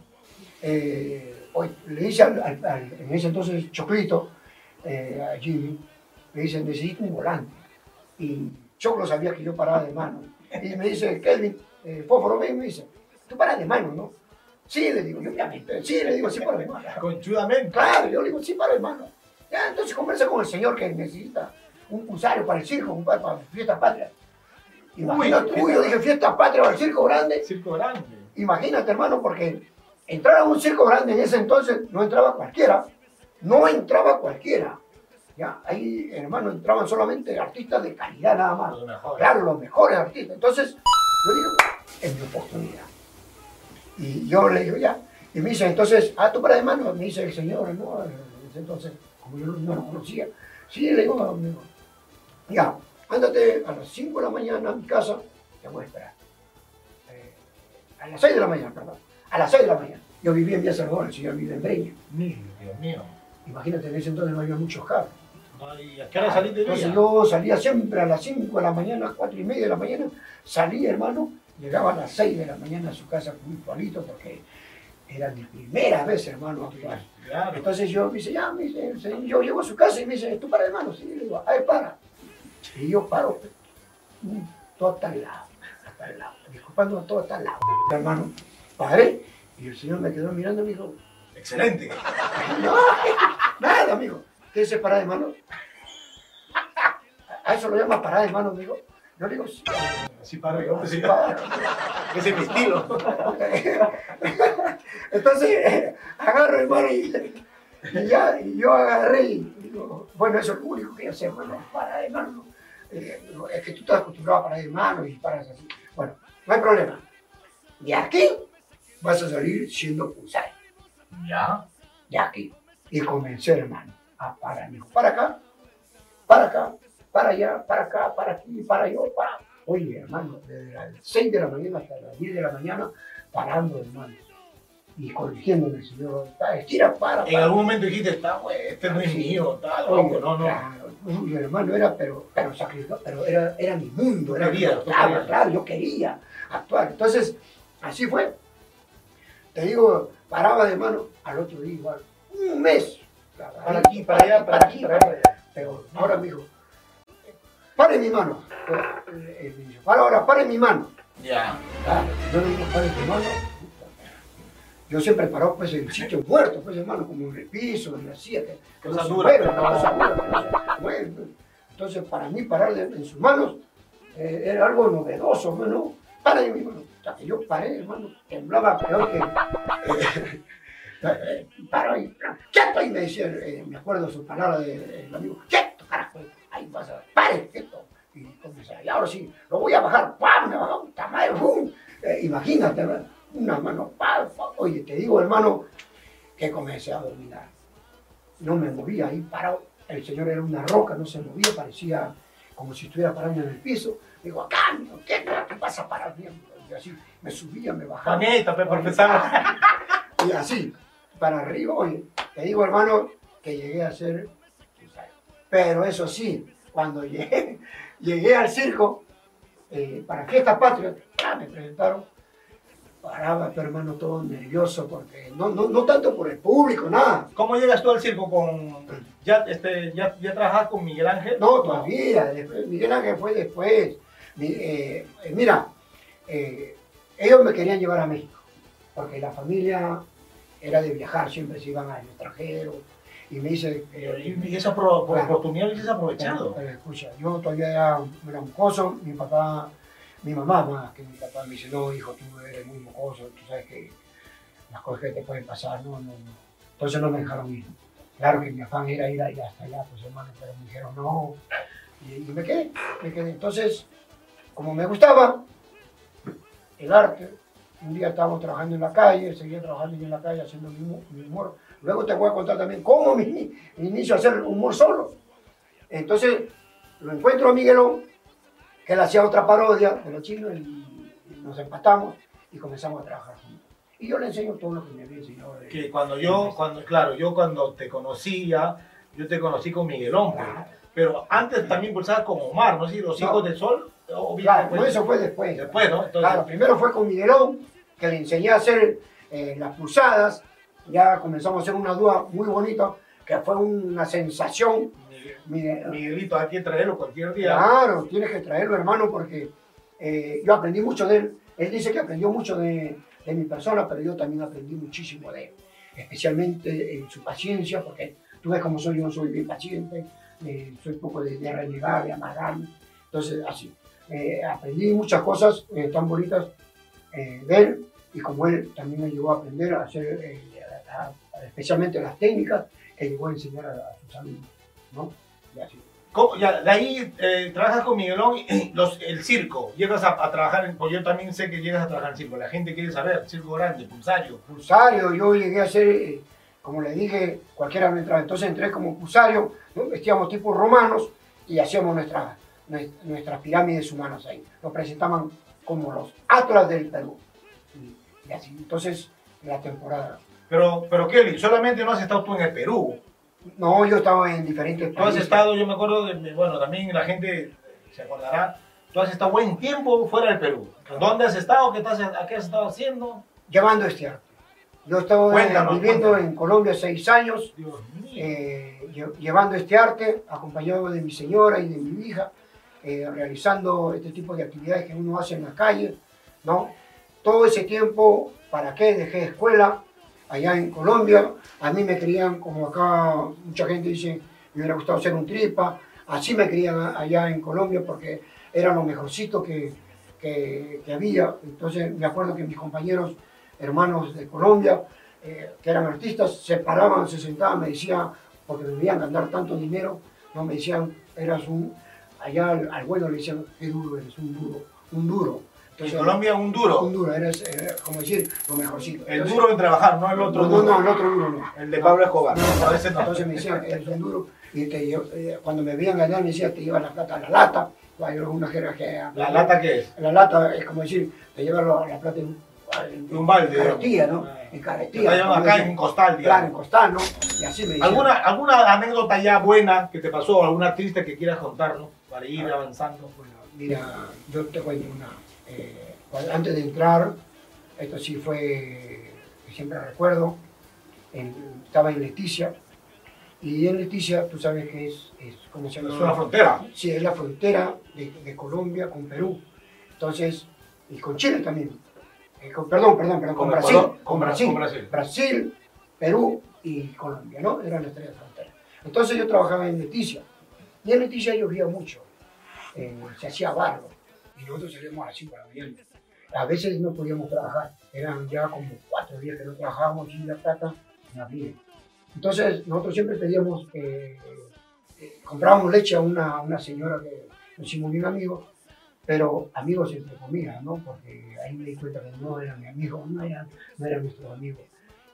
le dice en ese entonces Choclito, a Jimmy, me dice, necesito un volante. Y Choclo sabía que yo paraba de mano. Y me dice, Kelvin, Fósforo, me dice, tú paras de mano, ¿no? Sí, le digo, yo obviamente, sí, le digo, sí paro de mano. Conchudamente. Claro, yo le digo, sí paro de mano. Ya, entonces conversa con el señor que necesita un pulsario para el circo, para Fiestas Patrias. Imagínate, yo dije, Fiestas Patrias para el circo grande. Circo grande. Imagínate, hermano, porque entrar a un circo grande en ese entonces no entraba cualquiera. No entraba cualquiera. Ya, ahí, hermano, entraban solamente artistas de calidad nada más. Claro, los mejores artistas. Entonces, yo digo, es mi oportunidad. Y yo le digo, ya. Y me dice, entonces, tú para de mano, me dice el señor, ¿no? Entonces, como yo no lo conocía, sí, le digo, amigo, ya, ándate a las 5 de la mañana a mi casa, te voy a esperar. A las 6 de la mañana, perdón. A las 6 de la mañana. Yo vivía en Villa Salvador, el señor vive en Breña. Dios mío. Imagínate, en ese entonces no había muchos carros. ¿Y a qué hora saliste de Entonces yo salía siempre a las 5 de la mañana, 4 y media de la mañana, salía, hermano, llegaba a las 6 de la mañana a su casa puntualito porque era mi primera vez, hermano, a actuar. Claro. Entonces yo me dice, ya, me dice, yo llego a su casa y me dice, tú para, hermano. Sí, le digo, a ver, para. Y yo paro, todo está al lado, disculpando, todo está al lado. Hermano, paré y el señor me quedó mirando y me dijo, Excelente. no, nada, amigo. ¿Qué es parada de mano? A eso lo llama parada de mano, amigo. Yo le digo, sí. Así paro yo, Así sí. para. Ese es mi estilo. Entonces, agarro, hermano, y yo agarré y digo, bueno, eso es lo único que yo sé, bueno, para de mano. Es que tú estás acostumbrado a parar de mano y paras así. Bueno, no hay problema. De aquí vas a salir siendo pulsario. Ya. De aquí. Y comencé, hermano, a parar. Me dijo, para acá, para acá, para allá, para acá, para aquí, para allá, para. Oye, hermano, desde las 6 de la mañana hasta las 10 de la mañana, parando, hermano. Y corrigiéndome, el señor, estira, para. En algún momento dijiste, está bueno, este no es mío, está loco, no. Claro, mi hermano era, pero sacrificado, pero era mi mundo, era Quería, mi claro, yo quería actuar. Entonces, así fue. Te digo, paraba de mano, al otro día igual, un mes. Para aquí, para allá, para aquí, para allá. Pero ahora me dijo, pare mi mano. Me dijo, para ahora, pare mi mano. Ya. Yo le digo, pare mi mano. Yo siempre paro pues en sitios muertos, pues hermano, como en el piso, en la silla, que Cosa no dura. se mueve, cosa dura, que no se mueve. Entonces, para mí, parar en sus manos era algo novedoso, hermano. Para mi mano. O sea, que yo paré, hermano, temblaba peor que. Paro y quieto, y me decía, me acuerdo su palabra del amigo, quieto, carajo, ahí vas a ver, pare, quieto. Y comencé, y ahora sí, lo voy a bajar, ¡pam! Me bajó, tamaño, ¡pum! Imagínate, ¿verdad? Una mano, ¡pam! Oye, te digo, hermano, que comencé a dominar. No me movía ahí parado. El señor era una roca, no se movía, parecía como si estuviera parando en el piso. Digo, acá, amigo, ¿qué vas a parar bien? Y así, me subía, me bajaba. Paneta, por empezar. Y así, para arriba. Oye, te digo, hermano, que llegué a ser. Pero eso sí, cuando llegué al circo, para Fiestas Patrias, me presentaron. Paraba, pero hermano, todo nervioso, porque no tanto por el público, nada. ¿Cómo llegas tú al circo con... ¿Ya trabajas con Miguel Ángel? No, todavía, después, Miguel Ángel fue después. Mira, ellos me querían llevar a México, porque la familia era de viajar, siempre se iban al extranjero, y me dice... y esa oportunidad lo hiciste aprovechado. Pero escucha, yo todavía era un mocoso, mi mamá más que mi papá me dice, no, hijo, tú eres muy mocoso, tú sabes que las cosas que te pueden pasar, no. Entonces no me dejaron ir. Claro que mi afán era ir hasta allá, pues hermano, pero me dijeron no. Y me quedé. Entonces, como me gustaba el arte, un día estábamos trabajando en la calle, seguía trabajando yo en la calle haciendo mi humor. Luego te voy a contar también cómo me inicio a hacer humor solo. Entonces, lo encuentro a Miguelón, que él hacía otra parodia de los chinos y nos empatamos y comenzamos a trabajar juntos. Y yo le enseño todo lo que me había enseñado. Que cuando te conocía, yo te conocí con Miguelón, pues. Pero antes también impulsabas con Omar, ¿no? ¿Sí? Los Hijos del Sol. Claro, pues, eso fue después. Después, ¿no? Entonces, claro, primero fue con Miguelón, que le enseñé a hacer las pulsadas. Ya comenzamos a hacer una dúa muy bonita, que fue una sensación. Miguelito, hay que traerlo cualquier día. Claro, tienes que traerlo, hermano, porque yo aprendí mucho de él. Él dice que aprendió mucho de mi persona, pero yo también aprendí muchísimo de él. Especialmente en su paciencia, porque tú ves cómo soy, yo soy bien paciente, soy poco de renegar, de amargarme. Entonces, así. Aprendí muchas cosas tan bonitas de él, y como él también me llevó a aprender a hacer, especialmente las técnicas que llegó a enseñar a sus alumnos, ¿no? Y así. De ahí trabajas con Miguelón, el circo, llegas a trabajar, pues yo también sé que llegas a trabajar en circo, la gente quiere saber, circo grande, Pulsario. Pulsario, yo llegué a ser, como le dije, cualquiera me entraba, entonces entré como Pulsario, ¿no? Vestíamos tipos romanos y hacíamos nuestras pirámides humanas ahí, lo presentaban como los atlas del Perú, y así, entonces la temporada. Pero Kelly, solamente no has estado tú en el Perú. No, yo estaba en diferentes países. Tú has estado, yo me acuerdo, bueno, también la gente se acordará, tú has estado buen tiempo fuera del Perú. ¿Dónde has estado? ¿Qué has estado haciendo? Llevando este arte. Yo estaba Cuéntanos, viviendo cuéntanos. en Colombia 6 años, Dios mío. llevando este arte, acompañado de mi señora y de mi hija, realizando este tipo de actividades que uno hace en la calle, ¿no? Todo ese tiempo, ¿para qué? Dejé escuela allá en Colombia. A mí me querían, como acá mucha gente dice, me hubiera gustado ser un tripa. Así me querían allá en Colombia porque era lo mejorcito que había. Entonces me acuerdo que mis compañeros, hermanos de Colombia, que eran artistas, se paraban, se sentaban, me decían, porque me veían ganar tanto dinero, no me decían, eras un, allá al bueno le decían, qué duro eres, un duro, un duro. Entonces, En Colombia un duro. un duro, eres, como decir, lo mejorcito. El duro en trabajar, no el otro No, duro. no, el otro duro no. El de Pablo Escobar. No, No, ese no. Entonces me decían, eres un duro. Y cuando me veían ganar, me decían, te llevas la plata a la lata. Hay una jerarquía. ¿La lata qué es? La lata es como decir, te llevas la plata en Un balde, carretilla, ¿no? digamos. En carretilla. Te llevan acá Como en costal, digamos. Claro, en costal, ¿no? Y así me decían. ¿Alguna anécdota ya buena que te pasó, alguna triste que quieras contarnos para ir avanzando? Bueno, mira, yo te cuento una. Antes de entrar, esto sí fue, que siempre recuerdo, estaba en Leticia, y en Leticia, tú sabes que es ¿cómo se llama? Es una frontera. Sí, es la frontera de Colombia con Perú. Entonces, y con Chile también. Perdón, con Con Brasil. Ecuador, Con Brasil. con Brasil. Brasil, Perú y Colombia, ¿no? Eran las tres fronteras. Entonces yo trabajaba en Leticia. Y en Leticia llovía mucho. Se hacía barro. Y nosotros salíamos a las 5 de la mañana. A veces no podíamos trabajar. Eran ya como 4 días que no trabajábamos y la plata no había. Entonces nosotros siempre pedíamos, comprábamos leche a una señora que nos hicimos bien amigos, pero amigos entre comillas, ¿no? Porque ahí me di cuenta que no eran mis amigos, no eran nuestros amigos.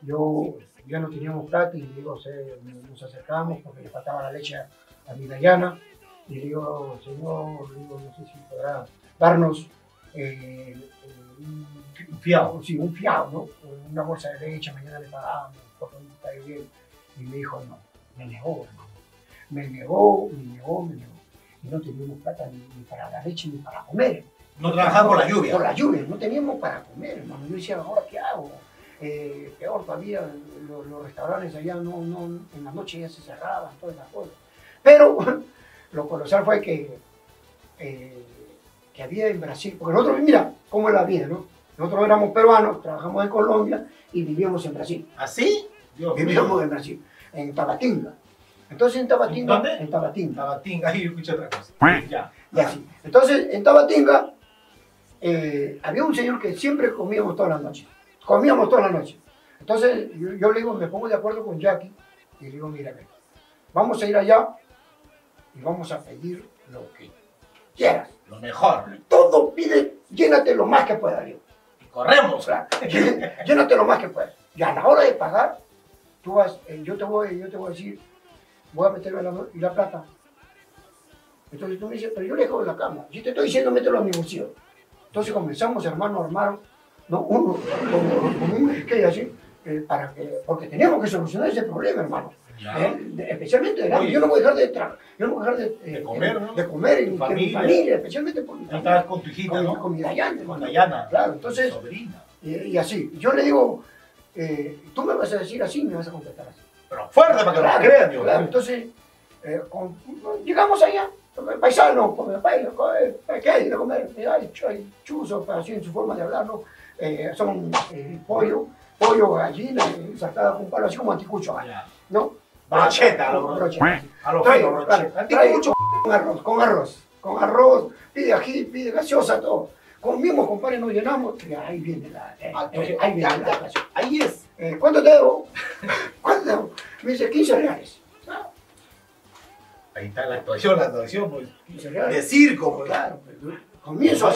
Ya no teníamos plata y digo, nos acercábamos porque le faltaba la leche a mi Dayana. Y le digo, señor, no sé si podrá darnos Un fiado. sí, un fiado, ¿no? Una bolsa de leche, mañana le pagamos, porque no está bien. Y me dijo, no, me negó, hermano. Me negó. Y no teníamos plata ni para la leche ni para comer. No trabajaba por la lluvia. Por la lluvia, no teníamos para comer, hermano. Yo decía, ¿ahora qué hago? Peor todavía, los restaurantes allá en la noche ya se cerraban, todas esas cosas. Pero lo colosal fue que había en Brasil, porque nosotros, mira cómo es la vida, ¿no? Nosotros éramos peruanos, trabajamos en Colombia y vivíamos en Brasil. ¿Así? Dios Vivíamos mío. en Brasil, en Tabatinga. Entonces en Tabatinga... ¿Dónde? En Tabatinga. Tabatinga, ahí escuché otra cosa. Ya. Y así. Entonces en Tabatinga había un señor que siempre comíamos todas las noches. Comíamos todas las noches. Entonces yo le digo, me pongo de acuerdo con Jackie y le digo, mira, vamos a ir allá y vamos a pedir lo que quieras. Lo mejor. Todo pide, llénate lo más que puedas, digo. Y corremos. O sea, llénate lo más que puedas. Y a la hora de pagar, tú vas, yo te voy a decir, voy a meterme la plata. Entonces tú me dices, pero yo le dejo en la cama. Si te estoy diciendo, mételo a mi bolsillo. Entonces comenzamos, hermano, a armar, ¿no? Uno, con un esquema así, porque teníamos que solucionar ese problema, hermano. Especialmente de hambre. Yo no voy a dejar de comer, ¿no? de comer en Tu mi familia, especialmente por mi Ahí familia. estabas con tu hijita, ¿no? Con mi Dayana. Con Dayana. Claro, entonces, Sobrina. y así. Yo le digo, tú me vas a decir así, me vas a contestar así. Pero fuerte para que nos crean, Dios. Claro, entonces, llegamos allá, paisano, ¿qué hay de comer? Hay chuzos, así en su forma de hablar, ¿no? Son pollo, gallina, saltada con palo, así como anticucho, ¿no? Brocheta, brocheta. A lo Trae, fino, brocheta. trae mucho con arroz, pide ají, pide gaseosa, todo. Comimos, compadre, nos llenamos, y ahí viene ahí viene la ocasión. Ahí es. ¿Cuánto te debo? ¿Cuánto te debo? Me dice, 15 reales. Ahí está la actuación, pues. 15 reales. De circo, pues. Claro, comienzo.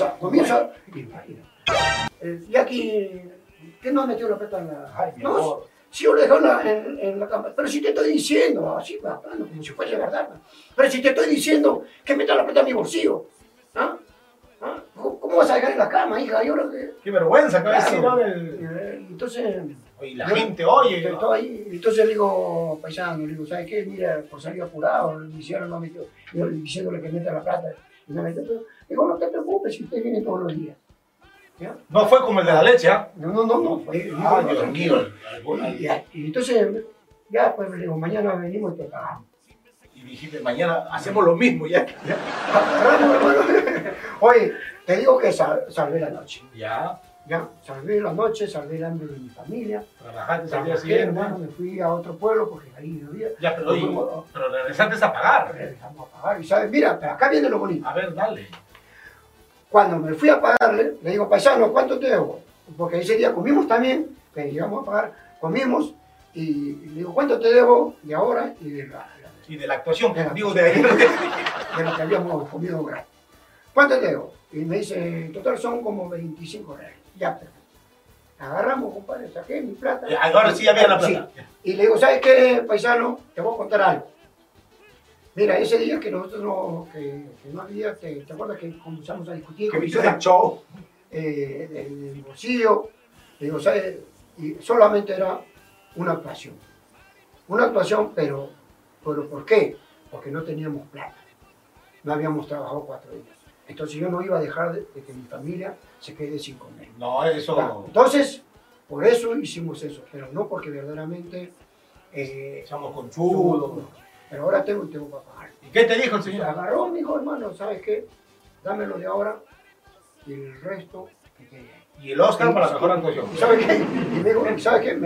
Y aquí, ¿qué no ha metido la plata en la... Ay, mi No, amor. si yo le dejo en la cama, pero si te estoy diciendo, así, hablando como si fuese verdad, pero si te estoy diciendo que meta la plata en mi bolsillo, ¿ah? ¿Cómo vas a dejar en la cama, hija? Yo, Qué vergüenza acaba de decir claro. ahora Entonces... Oye, la gente oye. Estaba ahí, entonces le digo, paisano, le digo, ¿sabes qué? Mira, por salir apurado, mi hicieron no metió, yo diciéndole que meta la plata, y no metió, pero digo, no te preocupes, si usted viene todos los días. ¿Ya? No fue como el de la leche, ¿ah? No. Fue, Dios mío. Y entonces, ya, pues le digo, mañana venimos y te pagamos. Y dijiste, mañana hacemos lo mismo ya. Agarramos, hermano. Oye, te digo que salvé la noche. Ya. Ya, salvé la noche, salvé el hambre de mi familia. Trabajaste al día Trabajé, siguiente. hermano, me fui a otro pueblo porque ahí no había. Ya, pero, oye, Fuimos- pero regresaste a pagar. Regresamos a pagar. Y sabes, mira, pero acá viene lo bonito. A ver, dale. Cuando me fui a pagarle, le digo, paisano, ¿cuánto te debo? Porque ese día comimos también, que llegamos a pagar, comimos, y le digo, ¿cuánto te debo? Y ahora, y Y de la actuación, De la- digo, de ahí. de lo que habíamos comido gratis. ¿Cuánto te debo? Y me dice, en total son como 25 reales. Ya, perfecto. Agarramos, compadre, saqué mi plata. Ahora sí había la plata. Sí. Y le digo, ¿sabes qué, paisano? Te voy a contar algo. Mira, ese día que nosotros que no había, ¿te acuerdas que comenzamos a discutir? Que viste el show. Del bolsillo? Le digo, ¿sabes? Y solamente era una actuación. Una actuación, pero ¿por qué? Porque no teníamos plata. No habíamos trabajado 4 días. Entonces yo no iba a dejar de que mi familia se quede sin comer. No, eso. Claro. Entonces, por eso hicimos eso, pero no porque verdaderamente... Echamos con chudo. Pero ahora tengo para pagar. ¿Y qué te dijo el Se señor? agarró, mi hijo, hermano, ¿sabes qué? Dámelo de ahora y el resto que quede ahí. Y el Oscar para la mejor actuación. ¿Y ¿sabes qué? Y me dijo, ¿sabes qué? Me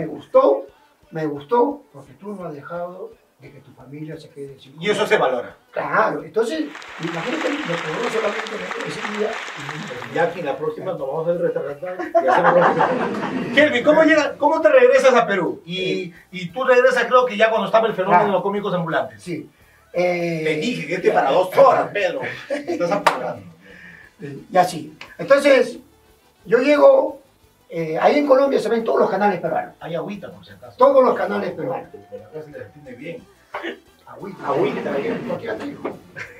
gustó porque tú no has dejado de que tu familia se quede sin Y eso se valora. Claro, entonces, imagínate lo que no solamente ese día. Ya aquí la próxima nos vamos al restaurante y hacemos lo Kelvin, ¿cómo te regresas a Perú? Y tú regresas, creo que ya cuando estaba el fenómeno de los cómicos ambulantes. Sí. Te dije que este para 2 horas, Pedro. Estás apurando. Y así. Entonces, yo llego, ahí en Colombia se ven todos los canales peruanos. Hay agüita, por si acaso. Todos los canales peruanos. Pero acá se les entiende bien. Agüita. Agüita. No quieras, hijo.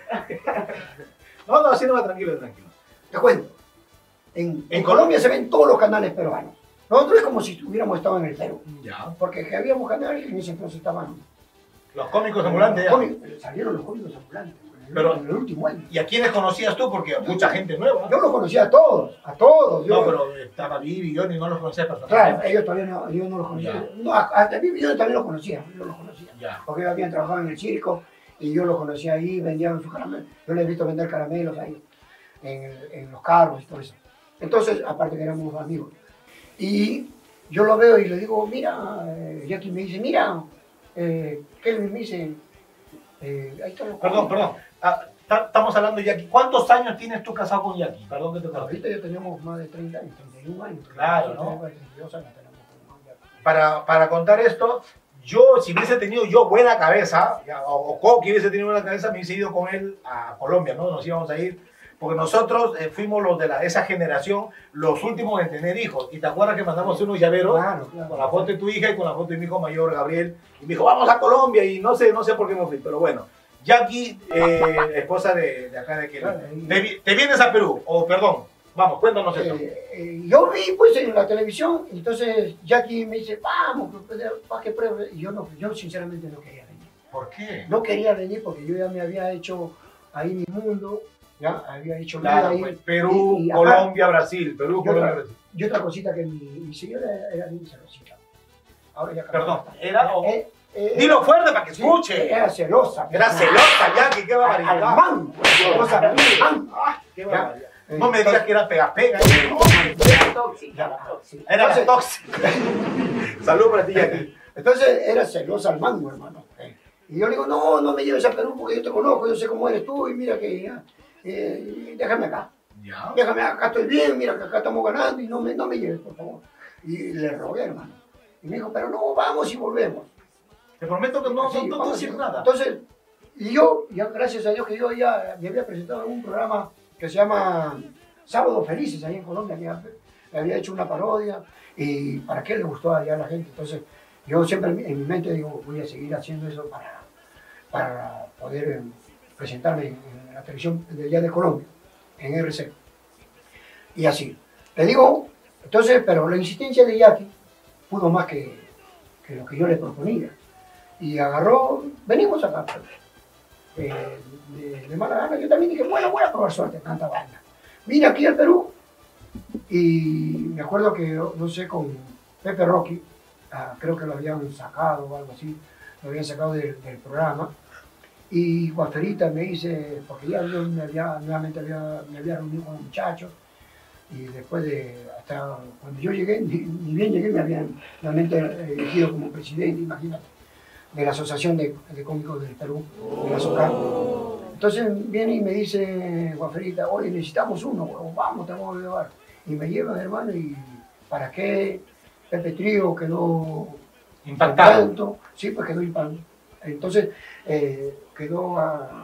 No, así no va, tranquilo. Te cuento. En Colombia se ven todos los canales peruanos. Nosotros es como si hubiéramos estado en el Perú. Ya. Porque que habíamos canales que en ese entonces estaban. Los cómicos ambulantes ya. Salieron los cómicos ambulantes. Pero- en el último año. ¿Y a quiénes conocías tú? Porque mucha gente nueva. Yo los conocía a todos. No, pero estaba Vivi y Johnny, no los conocías Claro, personalmente. ellos todavía no, yo no los conocía. Ya. No, hasta mí yo también los conocía. Yo los conocía. Ya. Porque ellos habían trabajado en el circo y yo los conocía ahí, vendían sus caramelos. Yo les he visto vender caramelos ahí, en los carros y todo eso. Entonces, aparte que éramos amigos. Y yo lo veo y le digo, mira, Jackie me dice, mira, Kelvin me dice, ahí están los Perdón. Estamos hablando de Jackie. ¿Cuántos años tienes tú casado con Jackie? Perdón que te corte. Ahorita ya tenemos más de 30 años, 31 años. Claro, ¿no? 32 años tenemos con Jackie. Para contar esto, yo, si hubiese tenido yo buena cabeza, o Coqui hubiese tenido buena cabeza, me hubiese ido con él a Colombia, ¿no? Nos íbamos a ir, porque nosotros fuimos los de esa generación, los últimos en tener hijos. Y te acuerdas que mandamos unos llaveros Claro. con la foto de tu hija y con la foto de mi hijo mayor, Gabriel, y me dijo, vamos a Colombia, y no sé por qué me fui, pero bueno. Jackie, esposa de acá de Kelvin. ¿Te vienes a Perú? O perdón, vamos, cuéntanos esto. Yo vi pues en la televisión, entonces Jackie me dice, vamos, para que pruebe. Y yo sinceramente no quería venir. ¿Por qué? No quería venir porque yo ya me había hecho ahí mi mundo, ya había hecho vida Claro, ahí. pues, Perú, Y Colombia, Brasil. Perú, Yo Colombia, tra- Brasil. Y otra cosita que mi señora era bien celosita. Ahora ya Perdón, cambió. era... Dilo fuerte para que Sí, escuche. Era celosa. Era celosa, Jackie, qué Al barbaridad. mango, celosa, al mango. Qué Ya. barbaridad. No me digas que era pega-pega. Ya, sí. Era la Entonces, tóxica. Salud para ti, Jackie. Entonces era celosa al mango, hermano. Y yo le digo, no me lleves a Perú porque yo te conozco, yo sé cómo eres tú y mira que ya, déjame acá. Ya. Déjame acá, estoy bien, mira que acá estamos ganando y no me lleves, por favor. Y le rogué, hermano. Y me dijo, pero no, vamos y volvemos. Te prometo que no Sí, te vamos, decir sí. nada. Entonces, y yo, ya gracias a Dios que yo ya me había presentado en un programa que se llama Sábados Felices, ahí en Colombia, que había hecho una parodia y para qué le gustó allá a la gente. Entonces, yo siempre en mi mente digo, voy a seguir haciendo eso para poder presentarme en la televisión de allá de Colombia, en RC. Y así. Le digo, entonces, pero la insistencia de Jackie pudo más que lo que yo le proponía. Y agarró, venimos acá. De mala gana, yo también dije, bueno, voy a probar suerte, tanta banda. Vine aquí al Perú Y me acuerdo que, no sé, con Pepe Rocky, creo que lo habían sacado o algo así, lo habían sacado del programa. Y Guaferita me dice, porque ya yo nuevamente me había reunido con los muchachos, y después hasta cuando yo llegué, ni bien llegué, me habían realmente elegido como presidente, imagínate, de la Asociación de Cómicos del Perú, de la SOCAR. Entonces viene y me dice Guaferita, oye, necesitamos uno, bueno, vamos, te vamos a llevar. Y me llevan, hermano, y ¿para qué? Pepe Trío quedó impactado. Sí, pues quedó impactado. Entonces quedó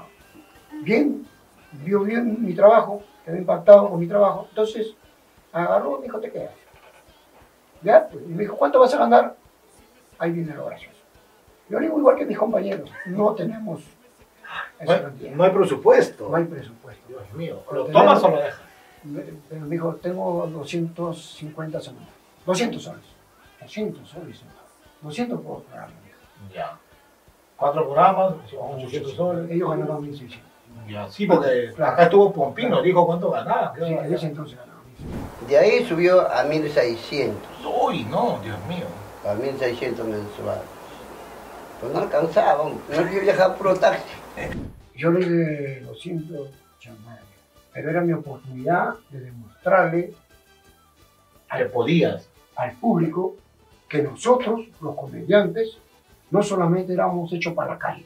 bien, vio bien mi trabajo, quedó impactado con mi trabajo. Entonces agarró y me dijo, te quedas. ¿Ya? Pues, y me dijo, ¿cuánto vas a ganar? Ahí viene lo gracioso. Yo digo igual que mis compañeros, no tenemos esa cantidad. No hay presupuesto. No hay presupuesto. Dios mío, Pero ¿lo tomas o lo dejas? Pero me dijo, tengo 250 semanas. 200 soles. 200 soles. 200 por programa. Ya. 4 programas, 800 soles. Ellos ganaban 1.600. Ya, sí, porque Claro. Acá estuvo Pompino, dijo cuánto ganaba. Sí, en ese entonces ganaban 1.600. De ahí subió a 1.600. Uy, no, Dios mío. A 1.600 mensuales. Pues no alcanzaba, no yo viajaba puro taxi. Yo le dije 200 chamales, pero era mi oportunidad de demostrarle Que podías. al público que nosotros, los comediantes, no solamente éramos hechos para la calle,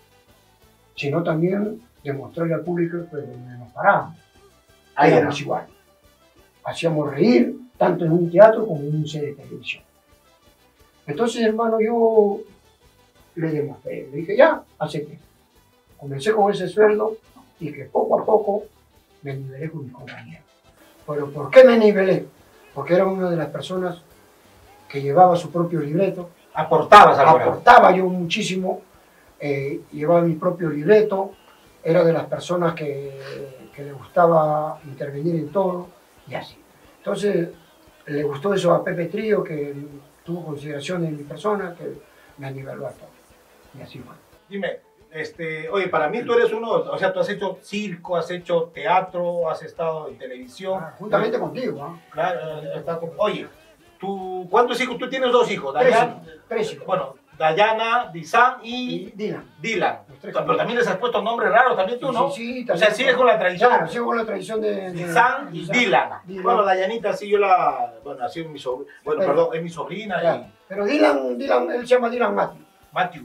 sino también demostrarle al público que donde nos parábamos, Ahí éramos era. igual. Hacíamos reír tanto en un teatro como en un set de televisión. Entonces, hermano, yo le demostré, le dije, ya, acepté. Comencé con ese sueldo y que poco a poco me nivelé con mis compañeros. ¿Pero por qué me nivelé? Porque era una de las personas que llevaba su propio libreto, Aportabas al programa. aportaba yo muchísimo, llevaba mi propio libreto, era de las personas que le gustaba intervenir en todo y así. Entonces le gustó eso a Pepe Trío, que tuvo consideración en mi persona, que me niveló a todo. Y así fue. Dime, oye, para mí tú eres uno, o sea, tú has hecho circo, has hecho teatro, has estado en televisión. Juntamente contigo, ¿ah? Claro, oye, ¿cuántos hijos? Tú tienes 2 hijos, Tres Dayana, hijos, 3 hijos. bueno, Dayana, Disan Y y Dylan. Dylan. Los 3 Pero hijos. también les has puesto nombres raros también tú, ¿no? Sí, O sea, sigues con la tradición. Claro, sigo con la tradición de Disan y Dylan. Bueno, Dayanita sí yo bueno, ha sido mi sobrina, bueno, Pero- perdón, es mi sobrina Claro. Pero Dylan, él se llama Dylan Matthew. y Matthew.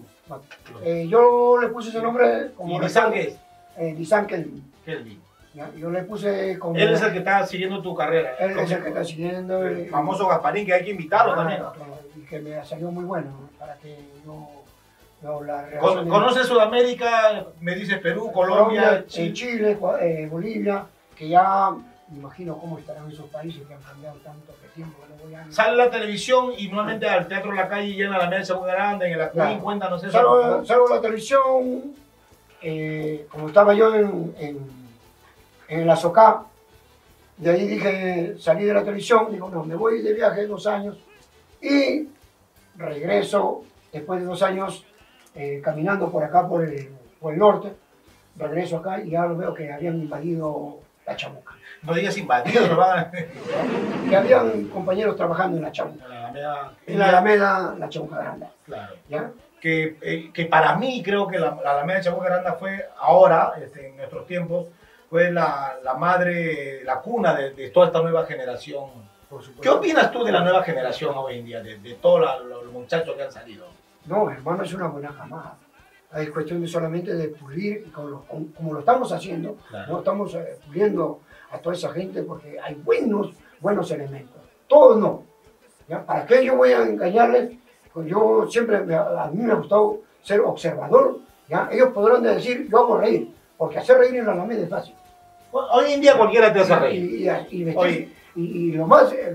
Yo le puse ese nombre como... ¿Y Disan qué es? Disan Kelvin. Kelvin. ¿Ya? Yo le puse como... Él es el que está siguiendo tu carrera. Él es el que está siguiendo. El famoso Gasparín, que hay que invitarlo también. Claro, y que me salió muy bueno, ¿no? Para que yo la relación... ¿Conoces Sudamérica? Me dices Perú, Colombia, Chile. Chile, Bolivia, que ya me imagino cómo estarán esos países que han cambiado tanto de tiempo que no voy a... Sale la televisión y nuevamente al Teatro La Calle llena la mesa muy grande, en el Acuín, Claro. cuéntanos eso. por favor. Salgo a la televisión, como estaba yo en la SOCA, de ahí dije, salí de la televisión, digo, no, me voy de viaje 2 años y regreso después de 2 años caminando por acá, por el norte, regreso acá y ya lo veo que habían invadido la Chamuca. No digas invadido, no van a... Que habían compañeros trabajando en la Chamuca. En la Alameda, la Chamuca Grande. Claro. ¿Ya? Que para mí creo que la Alameda de Chamuca Grande fue ahora, en nuestros tiempos, fue la madre, la cuna de toda esta nueva generación. Por supuesto. ¿Qué opinas tú de la nueva generación hoy en día, de todos los muchachos que han salido? No, hermano, es una buena camada. Es cuestión de solamente de pulir, y como lo estamos haciendo, Claro. ¿no? Estamos puliendo a toda esa gente porque hay buenos elementos. Todos no. ¿Ya? ¿Para qué yo voy a engañarles? Pues yo siempre, a mí me ha gustado ser observador. ¿Ya? Ellos podrán decir, yo hago reír, porque hacer reír en la Alameda es fácil. Bueno, hoy en día cualquiera te hace reír. Oye. Y lo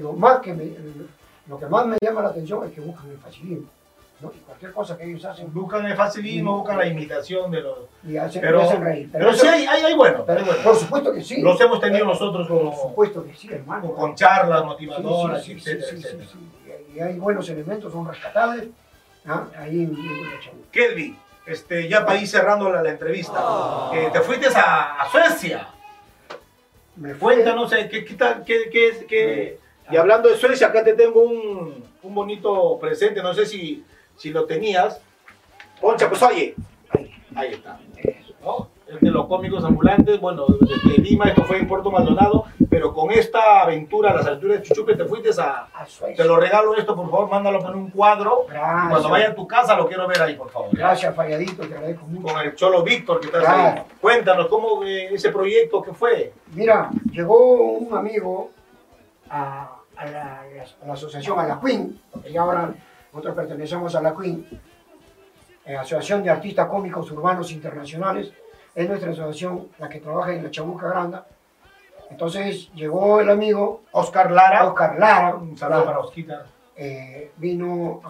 que más me llama la atención es que buscan el facilismo, ¿no? Y cualquier cosa que ellos hacen, Buscan el facilismo, buscan la imitación de los... y hacen reír. Pero eso- sí hay bueno. pero, hay bueno. por supuesto que sí. Los hemos tenido nosotros Por supuesto que sí, hermano. con charlas Sí, motivadoras, sí, sí, etcétera, sí, sí, etcétera. sí, sí. Y hay buenos elementos, son rescatables. ¿Ah? Ahí en la Chamuca. Kelvin, ya para ir cerrando la entrevista, te fuiste a Suecia. me fue. Cuéntanos, ¿qué tal? Y hablando de Suecia, acá te tengo un bonito presente, no sé si lo tenías. Poncha, pues oye. Ahí está. ¿No? El de los cómicos ambulantes, bueno, desde Lima, esto fue en Puerto Maldonado, pero con esta aventura, las aventuras de Chuchupe, te fuiste a Suecia. Te lo regalo esto, por favor, mándalo en un cuadro. Gracias. Cuando vaya a tu casa lo quiero ver ahí, por favor. Gracias, Falladito, te agradezco mucho. Con el Cholo Víctor que estás Claro. ahí. Cuéntanos, ¿cómo ese proyecto que fue? Mira, llegó un amigo a la asociación, a la Queen, porque ya ahora nosotros pertenecemos a la Queen, Asociación de Artistas Cómicos Urbanos Internacionales. Es nuestra asociación la que trabaja en la Chabuca Granda. Entonces llegó el amigo Oscar Lara. Un Un saludo para Osquita. vino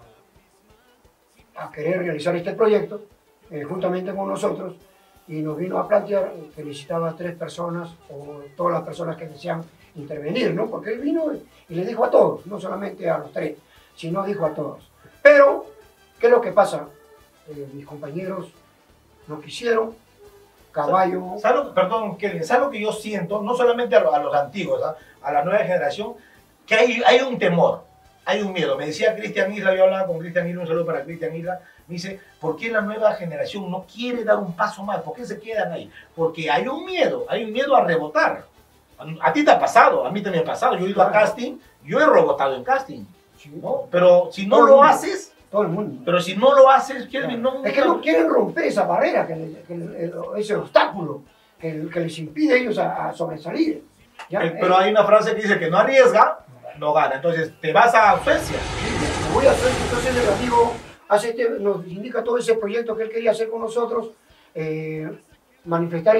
a querer realizar este proyecto juntamente con nosotros y nos vino a plantear que necesitaba 3 personas o todas las personas que desean intervenir, ¿no? Porque él vino y le dijo a todos, no solamente a los 3, sino dijo a todos. Pero, ¿qué es lo que pasa? Mis compañeros no quisieron, Caballo... Perdón, Kevin, ¿sabes lo que yo siento? No solamente a los antiguos, ¿ah? A la nueva generación, que hay un temor, hay un miedo. Me decía Cristian Isla, yo hablaba con Cristian Isla, un saludo para Cristian Isla, me dice, ¿por qué la nueva generación no quiere dar un paso más? ¿Por qué se quedan ahí? Porque hay un miedo a rebotar. A ti te ha pasado, a mí también me ha pasado. Yo he ido a casting, yo he rebotado en casting, ¿no? Pero si no lo haces... Todo el mundo. Pero si no lo haces, Kelvin, no... Es que no quieren romper esa barrera, ese obstáculo que les impide a ellos a sobresalir. ¿Ya? Pero hay una frase que dice que no arriesga, no gana. Entonces, te vas a Suecia. Me voy a Suecia. Entonces el amigo nos indica todo ese proyecto que él quería hacer con nosotros, manifestar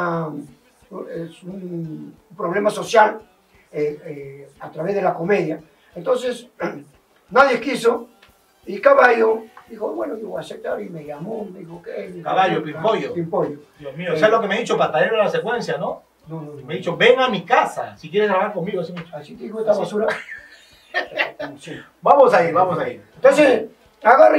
un problema social a través de la comedia. Entonces, nadie quiso. Y Caballo dijo, bueno, yo voy a aceptar, y me llamó, me dijo, ¿qué? Caballo, Pimpollo. Pimpollo. Dios mío, ¿sabes lo que me ha dicho Patarero en la secuencia, no? No. Me ha dicho, ven a mi casa, si quieres trabajar conmigo. Así te dijo esta basura. Sí. Vamos a ir. Entonces, agarra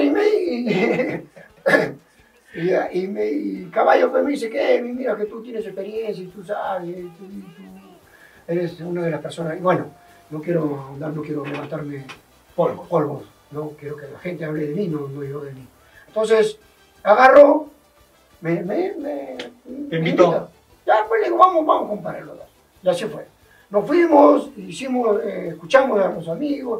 y Caballo pues me dice, que mira que tú tienes experiencia y tú sabes, tú eres una de las personas, y bueno, no quiero levantarme polvos. No quiero que la gente hable de mí, no yo de mí. Entonces, agarró, me invitó. Ya, pues le digo, vamos, compadre, los dos. Y así fue. Nos fuimos, escuchamos a los amigos,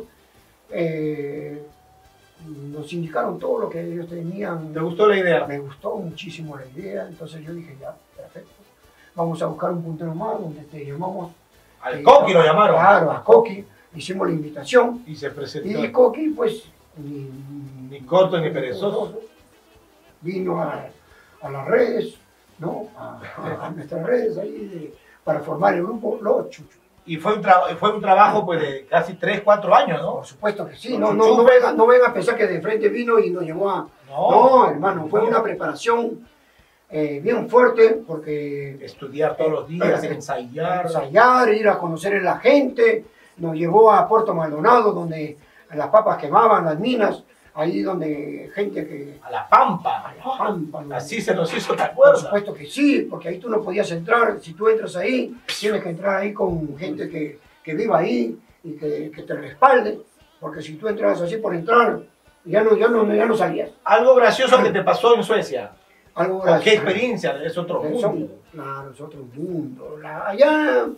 nos indicaron todo lo que ellos tenían. ¿Te gustó la idea? Me gustó muchísimo la idea, entonces yo dije, ya, perfecto. Vamos a buscar un puntero más donde te llamamos. Al Coqui lo llamaron. Claro, a Coqui. Hicimos la invitación. Y se presentó. Y Coqui, pues, ni corto ni perezoso. Vino a las redes, ¿no? A nuestras redes ahí para formar el grupo Los Chuchos. Y fue un trabajo pues de casi 3, 4 años, ¿no? Por supuesto que sí. No vengan a pensar que de frente vino y nos llevó a... No, hermano, fue una preparación bien fuerte porque... Estudiar todos los días, ensayar, ir a conocer a la gente. Nos llevó a Puerto Maldonado, donde las papas quemaban, las minas, ahí donde gente que... A la Pampa. ¿No? Así se nos hizo, ¿te acuerdas? Por supuesto que sí, porque ahí tú no podías entrar. Si tú entras ahí, tienes que entrar ahí con gente que viva ahí y que te respalde, porque si tú entras así por entrar, ya no salías. Algo gracioso que te pasó en Suecia. Algo gracioso. ¿Qué experiencia? Es otro mundo. Claro, es otro mundo. Allá...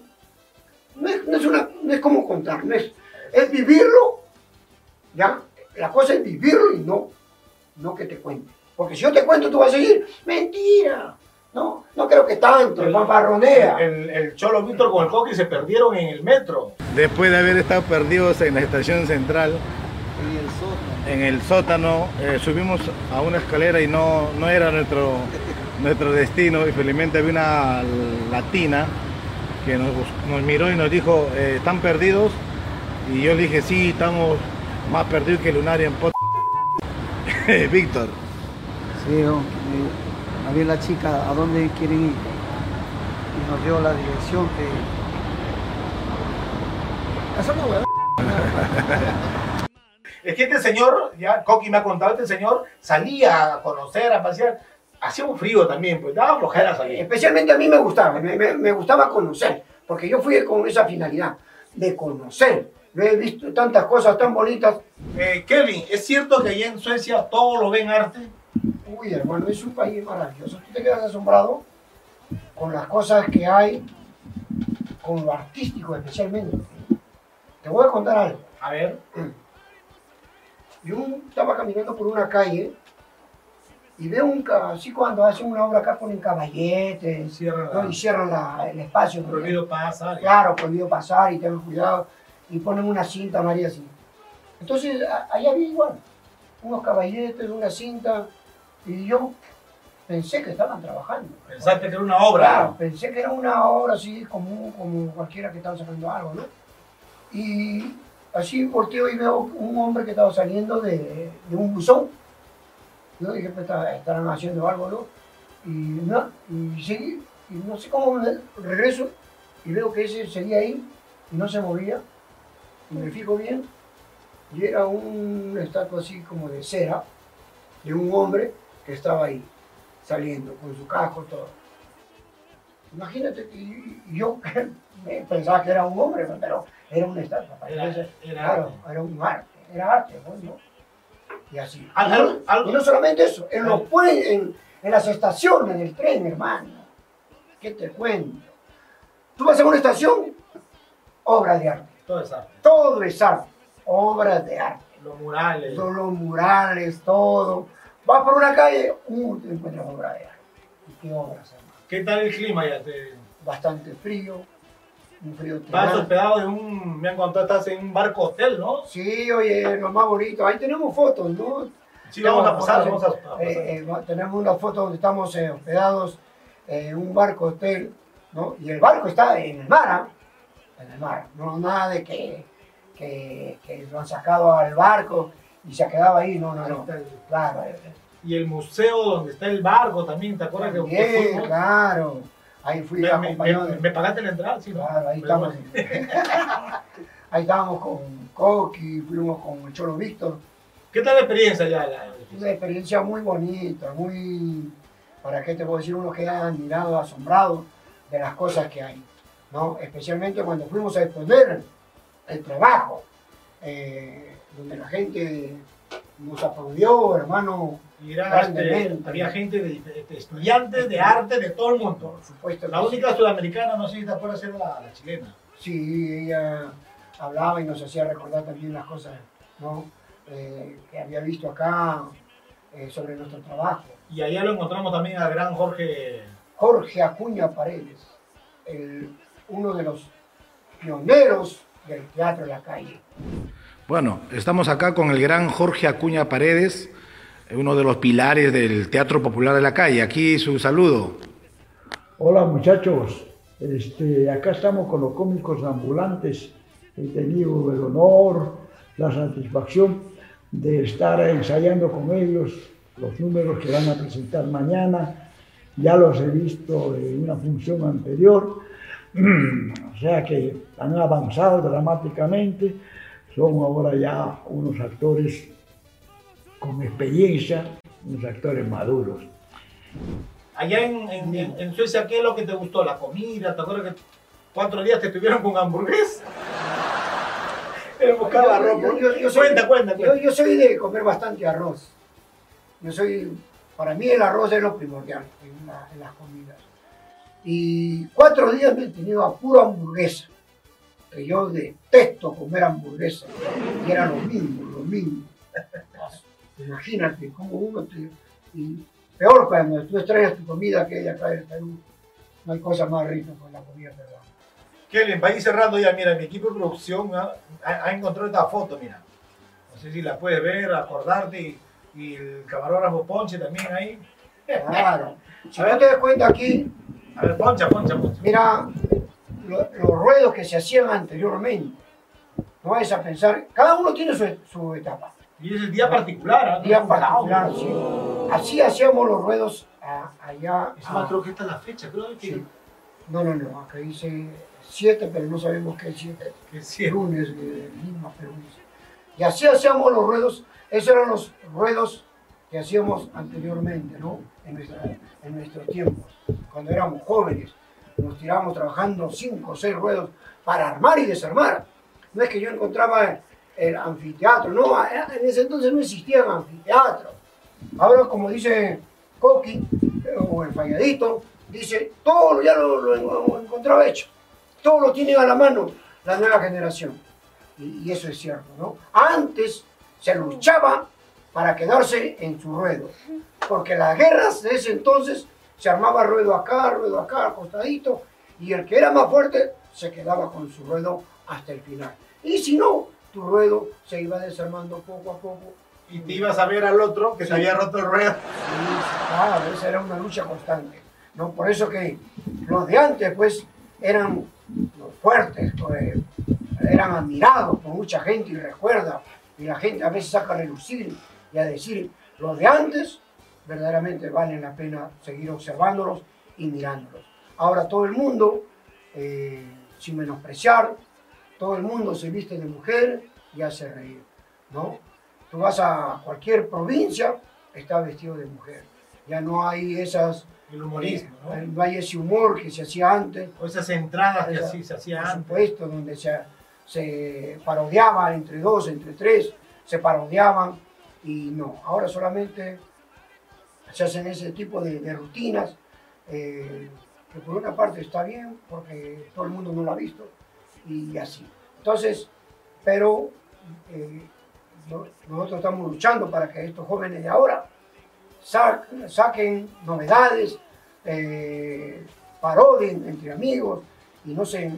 No es como contar, es vivirlo, ¿ya? La cosa es vivirlo y no que te cuente. Porque si yo te cuento, tú vas a seguir, mentira, no creo que tanto, el fanfarronea. El Cholo Víctor con el Coqui se perdieron en el metro. Después de haber estado perdidos en la estación central, en el sótano, subimos a una escalera y no era nuestro destino, y felizmente había una latina que nos miró y nos dijo, ¿están perdidos? Y yo le dije, sí, estamos más perdidos que Lunaria en Pot... Víctor. Sí, había la chica, ¿a dónde quieren ir? Y nos dio la dirección que... Eso no, ¿verdad? Es que este señor, ya Coqui me ha contado, este señor salía a conocer, a pasear. Hacía un frío también, pues daba flojera salir. Especialmente a mí me gustaba conocer. porque yo fui con esa finalidad de conocer. Yo he visto tantas cosas tan bonitas. Kevin, ¿es cierto que allá en Suecia todo lo ven arte? Uy, hermano, es un país maravilloso. Tú te quedas asombrado con las cosas que hay, con lo artístico especialmente. Te voy a contar algo. A ver. Yo estaba caminando por una calle y veo así cuando hacen una obra acá ponen caballetes, ¿no? Y cierran el espacio. Prohibido pasar. Claro, prohibido pasar y tengan cuidado. Y ponen una cinta amarilla así. Entonces, allá había igual. Unos caballetes, una cinta. Y yo pensé que estaban trabajando. Pensaste que era una obra. Claro, pensé que era una obra así como cualquiera que estaba sacando algo, ¿no? Y así volteo y veo un hombre que estaba saliendo de un buzón. Yo dije, pues estarán haciendo algo, ¿no? Y seguí, y no sé cómo regreso y veo que ese seguía ahí y no se movía. Y me fijo bien, y era una estatua así como de cera, de un hombre que estaba ahí, saliendo, con su casco, todo. Imagínate que yo pensaba que era un hombre, pero era una estatua. Era un arte, era arte, ¿no? Y así. Y no solamente eso, en las estaciones del tren, hermano. ¿Qué te cuento? Tú vas a una estación, obra de arte. Todo es arte. Todo es arte, obras de arte. Los murales. Todos los murales, todo. Vas por una calle, te encuentras obra de arte. ¿Y qué obras, hermano? ¿Qué tal el clima ya? Bastante frío, un frío Vas tremendo. hospedado me han contado, estás en un barco hotel, ¿no? Sí, oye, lo más bonito. Ahí tenemos fotos, ¿no? Sí, vamos a pasar, Tenemos vamos a pasar. tenemos una foto donde estamos hospedados en un barco hotel, ¿no? Y el barco está en el mar, ¿ah? En el mar. No nada de que lo han sacado al barco y se ha quedado ahí, no. Claro. Y el museo donde está el barco también, ¿te acuerdas que Bien, fuimos? claro. Ahí fui acompañado de... ¿Me pagaste la entrada? Sí, ¿no? Claro, ahí Pero estamos. bueno. Ahí estábamos con Coqui, fuimos con el Cholo Víctor. ¿Qué tal la experiencia ya? Una experiencia muy bonita, ¿para qué te puedo decir? Uno queda admirado, asombrado de las cosas que hay, ¿no? Especialmente cuando fuimos a exponer el trabajo, donde la gente nos aplaudió, hermano. Había gente de estudiantes de arte de todo el mundo. Por supuesto. La única sudamericana, no sé si te acuerdas, era la chilena. Sí, ella hablaba y nos hacía recordar también las cosas, ¿no? Que había visto acá sobre nuestro trabajo. Y allá lo encontramos también al gran Jorge Acuña Paredes, uno de los pioneros del teatro en la calle. Bueno, estamos acá con el gran Jorge Acuña Paredes, uno de los pilares del Teatro Popular de la Calle. Aquí su saludo. Hola muchachos, acá estamos con los cómicos ambulantes. He tenido el honor, la satisfacción de estar ensayando con ellos los números que van a presentar mañana. Ya los he visto en una función anterior, o sea que han avanzado dramáticamente. Son ahora ya unos actores con experiencia, unos actores maduros. Allá en Suecia, ¿qué es lo que te gustó? ¿La comida? ¿Te acuerdas que 4 días te estuvieron con hamburguesa? Buscaba arroz. Cuenta. Yo soy de comer bastante arroz. Para mí el arroz es lo primordial en las comidas. Y 4 días me he tenido a pura hamburguesa. Que yo detesto comer hamburguesa. Y era lo mismo. Imagínate cómo uno y peor cuando tú extrañas tu comida que hay acá en Perú. No hay cosa más rica que la comida peruana. Kevin, para ir cerrando ya, mira, mi equipo de producción ha encontrado esta foto, mira. No sé si la puedes ver, acordarte, y el camarógrafo Ponche también ahí. Claro. Si no te das cuenta aquí, A ver, poncha. mira los ruedos que se hacían anteriormente. No vayas a pensar, cada uno tiene su etapa. Y es el día particular, ¿eh? Día particular, sí. Así hacíamos los ruedos allá. Es más, creo que esta es la fecha, creo que... Sí. No, acá dice 7, pero no sabemos qué es 7. Que es 7. Lunes de Lima, Perú. Y así hacíamos los ruedos, esos eran los ruedos que hacíamos anteriormente, ¿no? En nuestros tiempos, cuando éramos jóvenes. nos tirábamos trabajando 5 o 6 ruedos para armar y desarmar. No es que yo encontraba el anfiteatro, no, en ese entonces no existía el anfiteatro. Ahora, como dice Coqui, o el Falladito, dice, todo ya lo encontraba hecho, todo lo tienen a la mano la nueva generación. Y eso es cierto, ¿no? Antes se luchaba para quedarse en su ruedo, porque las guerras de ese entonces se armaba ruedo acá, acostadito, y el que era más fuerte se quedaba con su ruedo hasta el final. Y si no, tu ruedo se iba desarmando poco a poco. Y te ibas a ver al otro que se había roto el ruedo. Sí, claro, esa era una lucha constante, ¿no? Por eso que los de antes, pues, eran fuertes, pues, eran admirados por mucha gente y recuerda, y la gente a veces saca a relucir y a decir, los de antes verdaderamente valen la pena seguir observándolos y mirándolos. Ahora todo el mundo, sin menospreciar, todo el mundo se viste de mujer y hace reír, ¿no? Tú vas a cualquier provincia, está vestido de mujer. Ya no hay esas... El humorismo, ¿no? No hay ese humor que se hacía antes. O esas entradas que así se hacía Por antes. supuesto, donde se parodiaba entre 2, entre 3, se parodiaban. Y no, ahora solamente se hacen ese tipo de rutinas, que por una parte está bien, porque todo el mundo no lo ha visto, y así. Entonces, pero nosotros estamos luchando para que estos jóvenes de ahora saquen novedades, parodien entre amigos y no se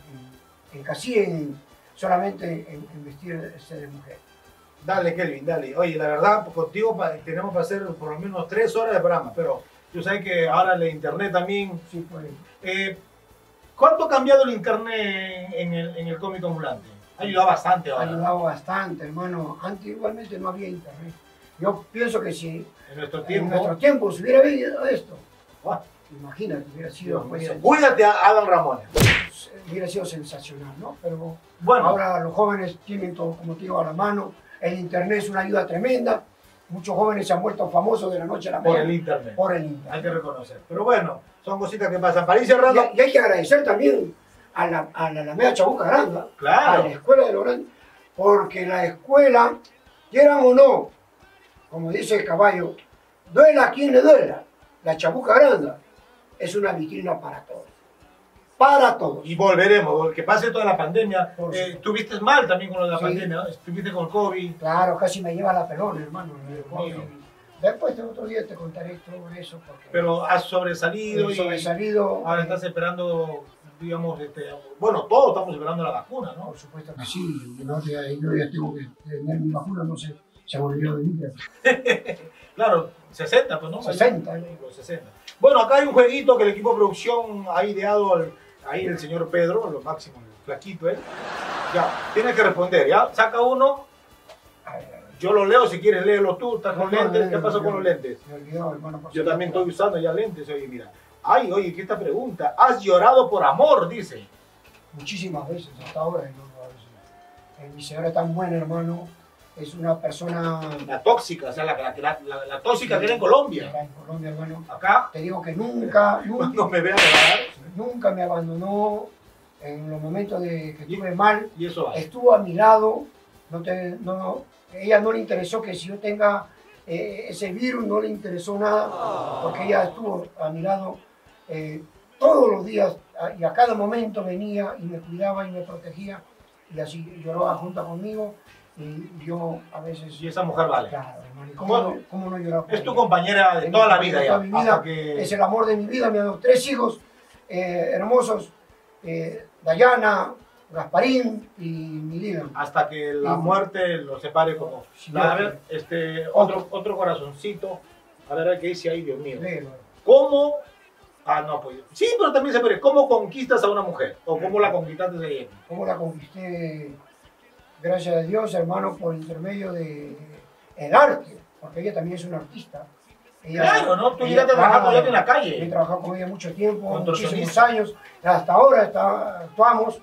encasillen solamente en vestirse de mujer. Dale, Kelvin, dale. Oye, la verdad, contigo tenemos que hacer por lo menos 3 horas de programa, pero tú sabes que ahora el internet también... Sí, pues. ¿Cuánto ha cambiado el internet en el cómic ambulante? Ha ayudado bastante ahora. Ha ayudado bastante, hermano. Antes igualmente no había internet. Yo pienso que si En nuestro en nuestro tiempo se hubiera vivido esto, imagínate, hubiera sido, pues, Cuídate, Adam Ramón. hubiera sido sensacional, ¿no? Pero Bueno. ahora los jóvenes tienen todo, como te digo, a la mano. El internet es una ayuda tremenda. Muchos jóvenes se han vuelto famosos de la noche a la Por mañana. el internet. Por el internet. Hay que reconocer. Pero bueno, son cositas que pasan. Para ir cerrando. Y hay que agradecer también a la Alameda Chabuca Granda, Claro. a la escuela de Lorán, porque la escuela, quieran o no, como dice el caballo, duela a quien le duela, la Chabuca Granda es una vitrina para todos. Para todos. Y volveremos, que pase toda la pandemia. Por supuesto. Estuviste mal también con lo de la Sí. pandemia, ¿no? Estuviste con el COVID. Claro, casi me lleva la pelona, hermano. mío. Después de otro día te contaré sobre eso. Porque Pero has sobresalido he sobresalido. ahora estás esperando, digamos, bueno, todos estamos esperando la vacuna, ¿no? Por supuesto que sí. Yo ya tengo que tener mi vacuna, no sé, se volvió de mí. Claro, 60, pues, ¿no? 60. Los 60. Bueno, acá hay un jueguito que el equipo de producción ha ideado ahí el señor Pedro, lo máximo, el flaquito, ¿eh? Ya, tienes que responder, ¿ya? Saca uno, yo lo leo, si quieres léelo tú, estás con lentes, ¿qué pasó con los lentes? Me olvidó, hermano. Yo también estoy usando ya lentes, oye, mira. Ay, oye, ¿qué esta pregunta? ¿Has llorado por amor? Dice. Muchísimas veces, hasta ahora. Mi señora es tan buena, hermano. Es una persona... La tóxica, o sea, la tóxica que era en Colombia. En Colombia, hermano. Acá, Te digo que nunca cuando me vean grabar, nunca me abandonó en los momentos de que estuve mal. y eso va. Estuvo a mi lado. Ella no le interesó que si yo tenga ese virus, no le interesó nada, porque ella estuvo a mi lado todos los días y a cada momento venía y me cuidaba y me protegía y así lloraba junto conmigo y yo a veces... Y esa mujer vale. Claro, hermano, Bueno, ¿cómo no llorar por Es tu ella? compañera de Es toda mi la vida ya. compañera de toda mi vida, Hasta que... Es el amor de mi vida, me ha dado 3 hijos hermosos, Dayana, Gasparín y Milena. Hasta que la Sí. muerte los separe como... Sí, A ver, otro corazoncito. A ver, ¿qué dice ahí, Dios mío? Léelo. ¿Cómo? Ah, no, pues... Sí, pero también se puede. ¿Cómo conquistas a una mujer? ¿O cómo la conquistaste de ella? ¿Cómo la conquisté? Gracias a Dios, hermano, por intermedio de el arte, porque ella también es una artista. Claro, ¿no? Tú llegaste a trabajar con ella en la calle. He trabajado con ella mucho tiempo, Contorsionista. muchísimos años. Hasta ahora actuamos.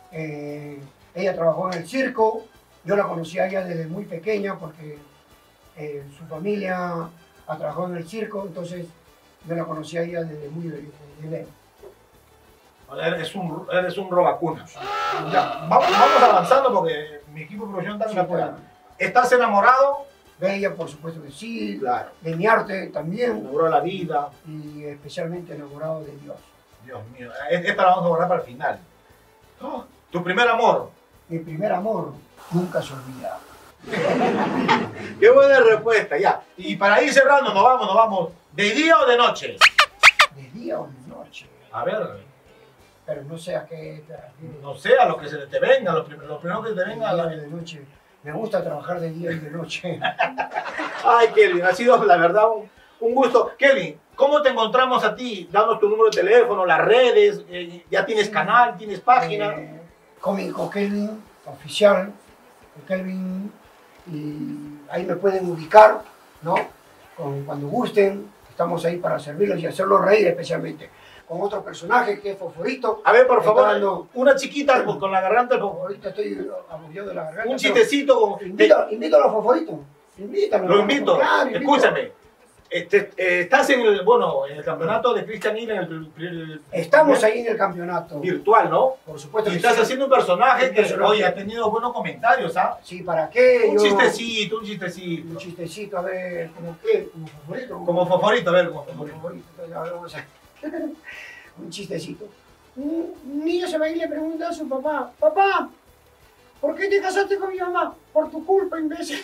Ella trabajó en el circo. Yo la conocí a ella desde muy pequeña porque su familia ha trabajado en el circo. Entonces yo la conocí a ella desde muy bebé. Eres un robacunas. Ya, vamos avanzando porque mi equipo de producción está en la puerta. ¿Estás enamorado? De ella, por supuesto que sí. Claro. De mi arte también. Enamorado de la vida. Y especialmente enamorado de Dios. Dios mío, esta la vamos a guardar para el final. Oh, ¿tu primer amor? Mi primer amor nunca se olvida. Qué buena respuesta, ya. Y para ir cerrando, nos vamos. ¿De día o de noche? ¿De día o de noche? A ver. Pero no sé a qué te refieres. No sé, a lo que se te venga, lo primero que te venga. De día o de noche. Me gusta trabajar de día y de noche. Ay, Kelvin, ha sido la verdad un gusto. Kelvin, ¿cómo te encontramos a ti? Danos tu número de teléfono, las redes, ya tienes canal, tienes página. Cómico Kelvin, oficial, Kelvin, y ahí me pueden ubicar, ¿no? Cuando gusten, estamos ahí para servirlos y hacerlos reír especialmente. Con otro personaje que es Fosforito. A ver, por favor, una chiquita con la garganta. Ahorita estoy aburrido de la garganta. Un chistecito con... Invito a los Fosforitos. Invítalo. Lo invito. Claro, escúchame. Estás en el campeonato de Christian Hill, estamos ahí en el campeonato. Virtual, ¿no? Por supuesto. Y que estás sí. haciendo un personaje que personaje. hoy ha tenido buenos comentarios, ¿ah? Sí, ¿para qué? Un chistecito. Un chistecito, a ver, ¿cómo qué? ¿Como Fosforito? Como Fosforito, a ver, como Como Fosforito. Fosforito. Entonces, ahora vamos a... Un chistecito. Un niño se va y le pregunta a su papá: papá, ¿por qué te casaste con mi mamá? Por tu culpa, imbécil.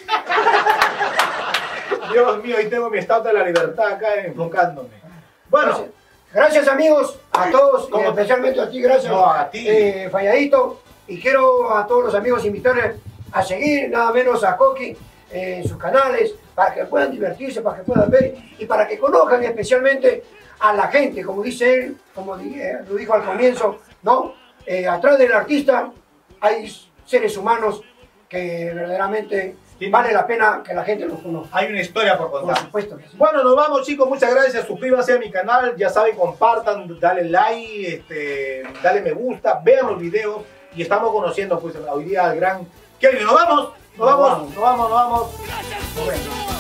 Dios mío, ahí tengo mi estatua de la libertad acá enfocándome. Bueno. Gracias amigos, a todos, y especialmente a ti, gracias. No, a ti. Falladito. Y quiero a todos los amigos invitarles a seguir, nada menos a Coqui, en sus canales, para que puedan divertirse, para que puedan ver y para que conozcan especialmente a la gente, como dice él, como lo dijo al comienzo, ¿no? Atrás del artista hay seres humanos que verdaderamente vale la pena que la gente los conozca. Hay una historia por contar. Por supuesto que sí. Bueno, nos vamos, chicos, muchas gracias, suscríbanse a mi canal, ya saben, compartan, dale like, dale me gusta, vean los videos y estamos conociendo pues hoy día al gran Kelvin. Nos vamos. Gracias. Nos vemos.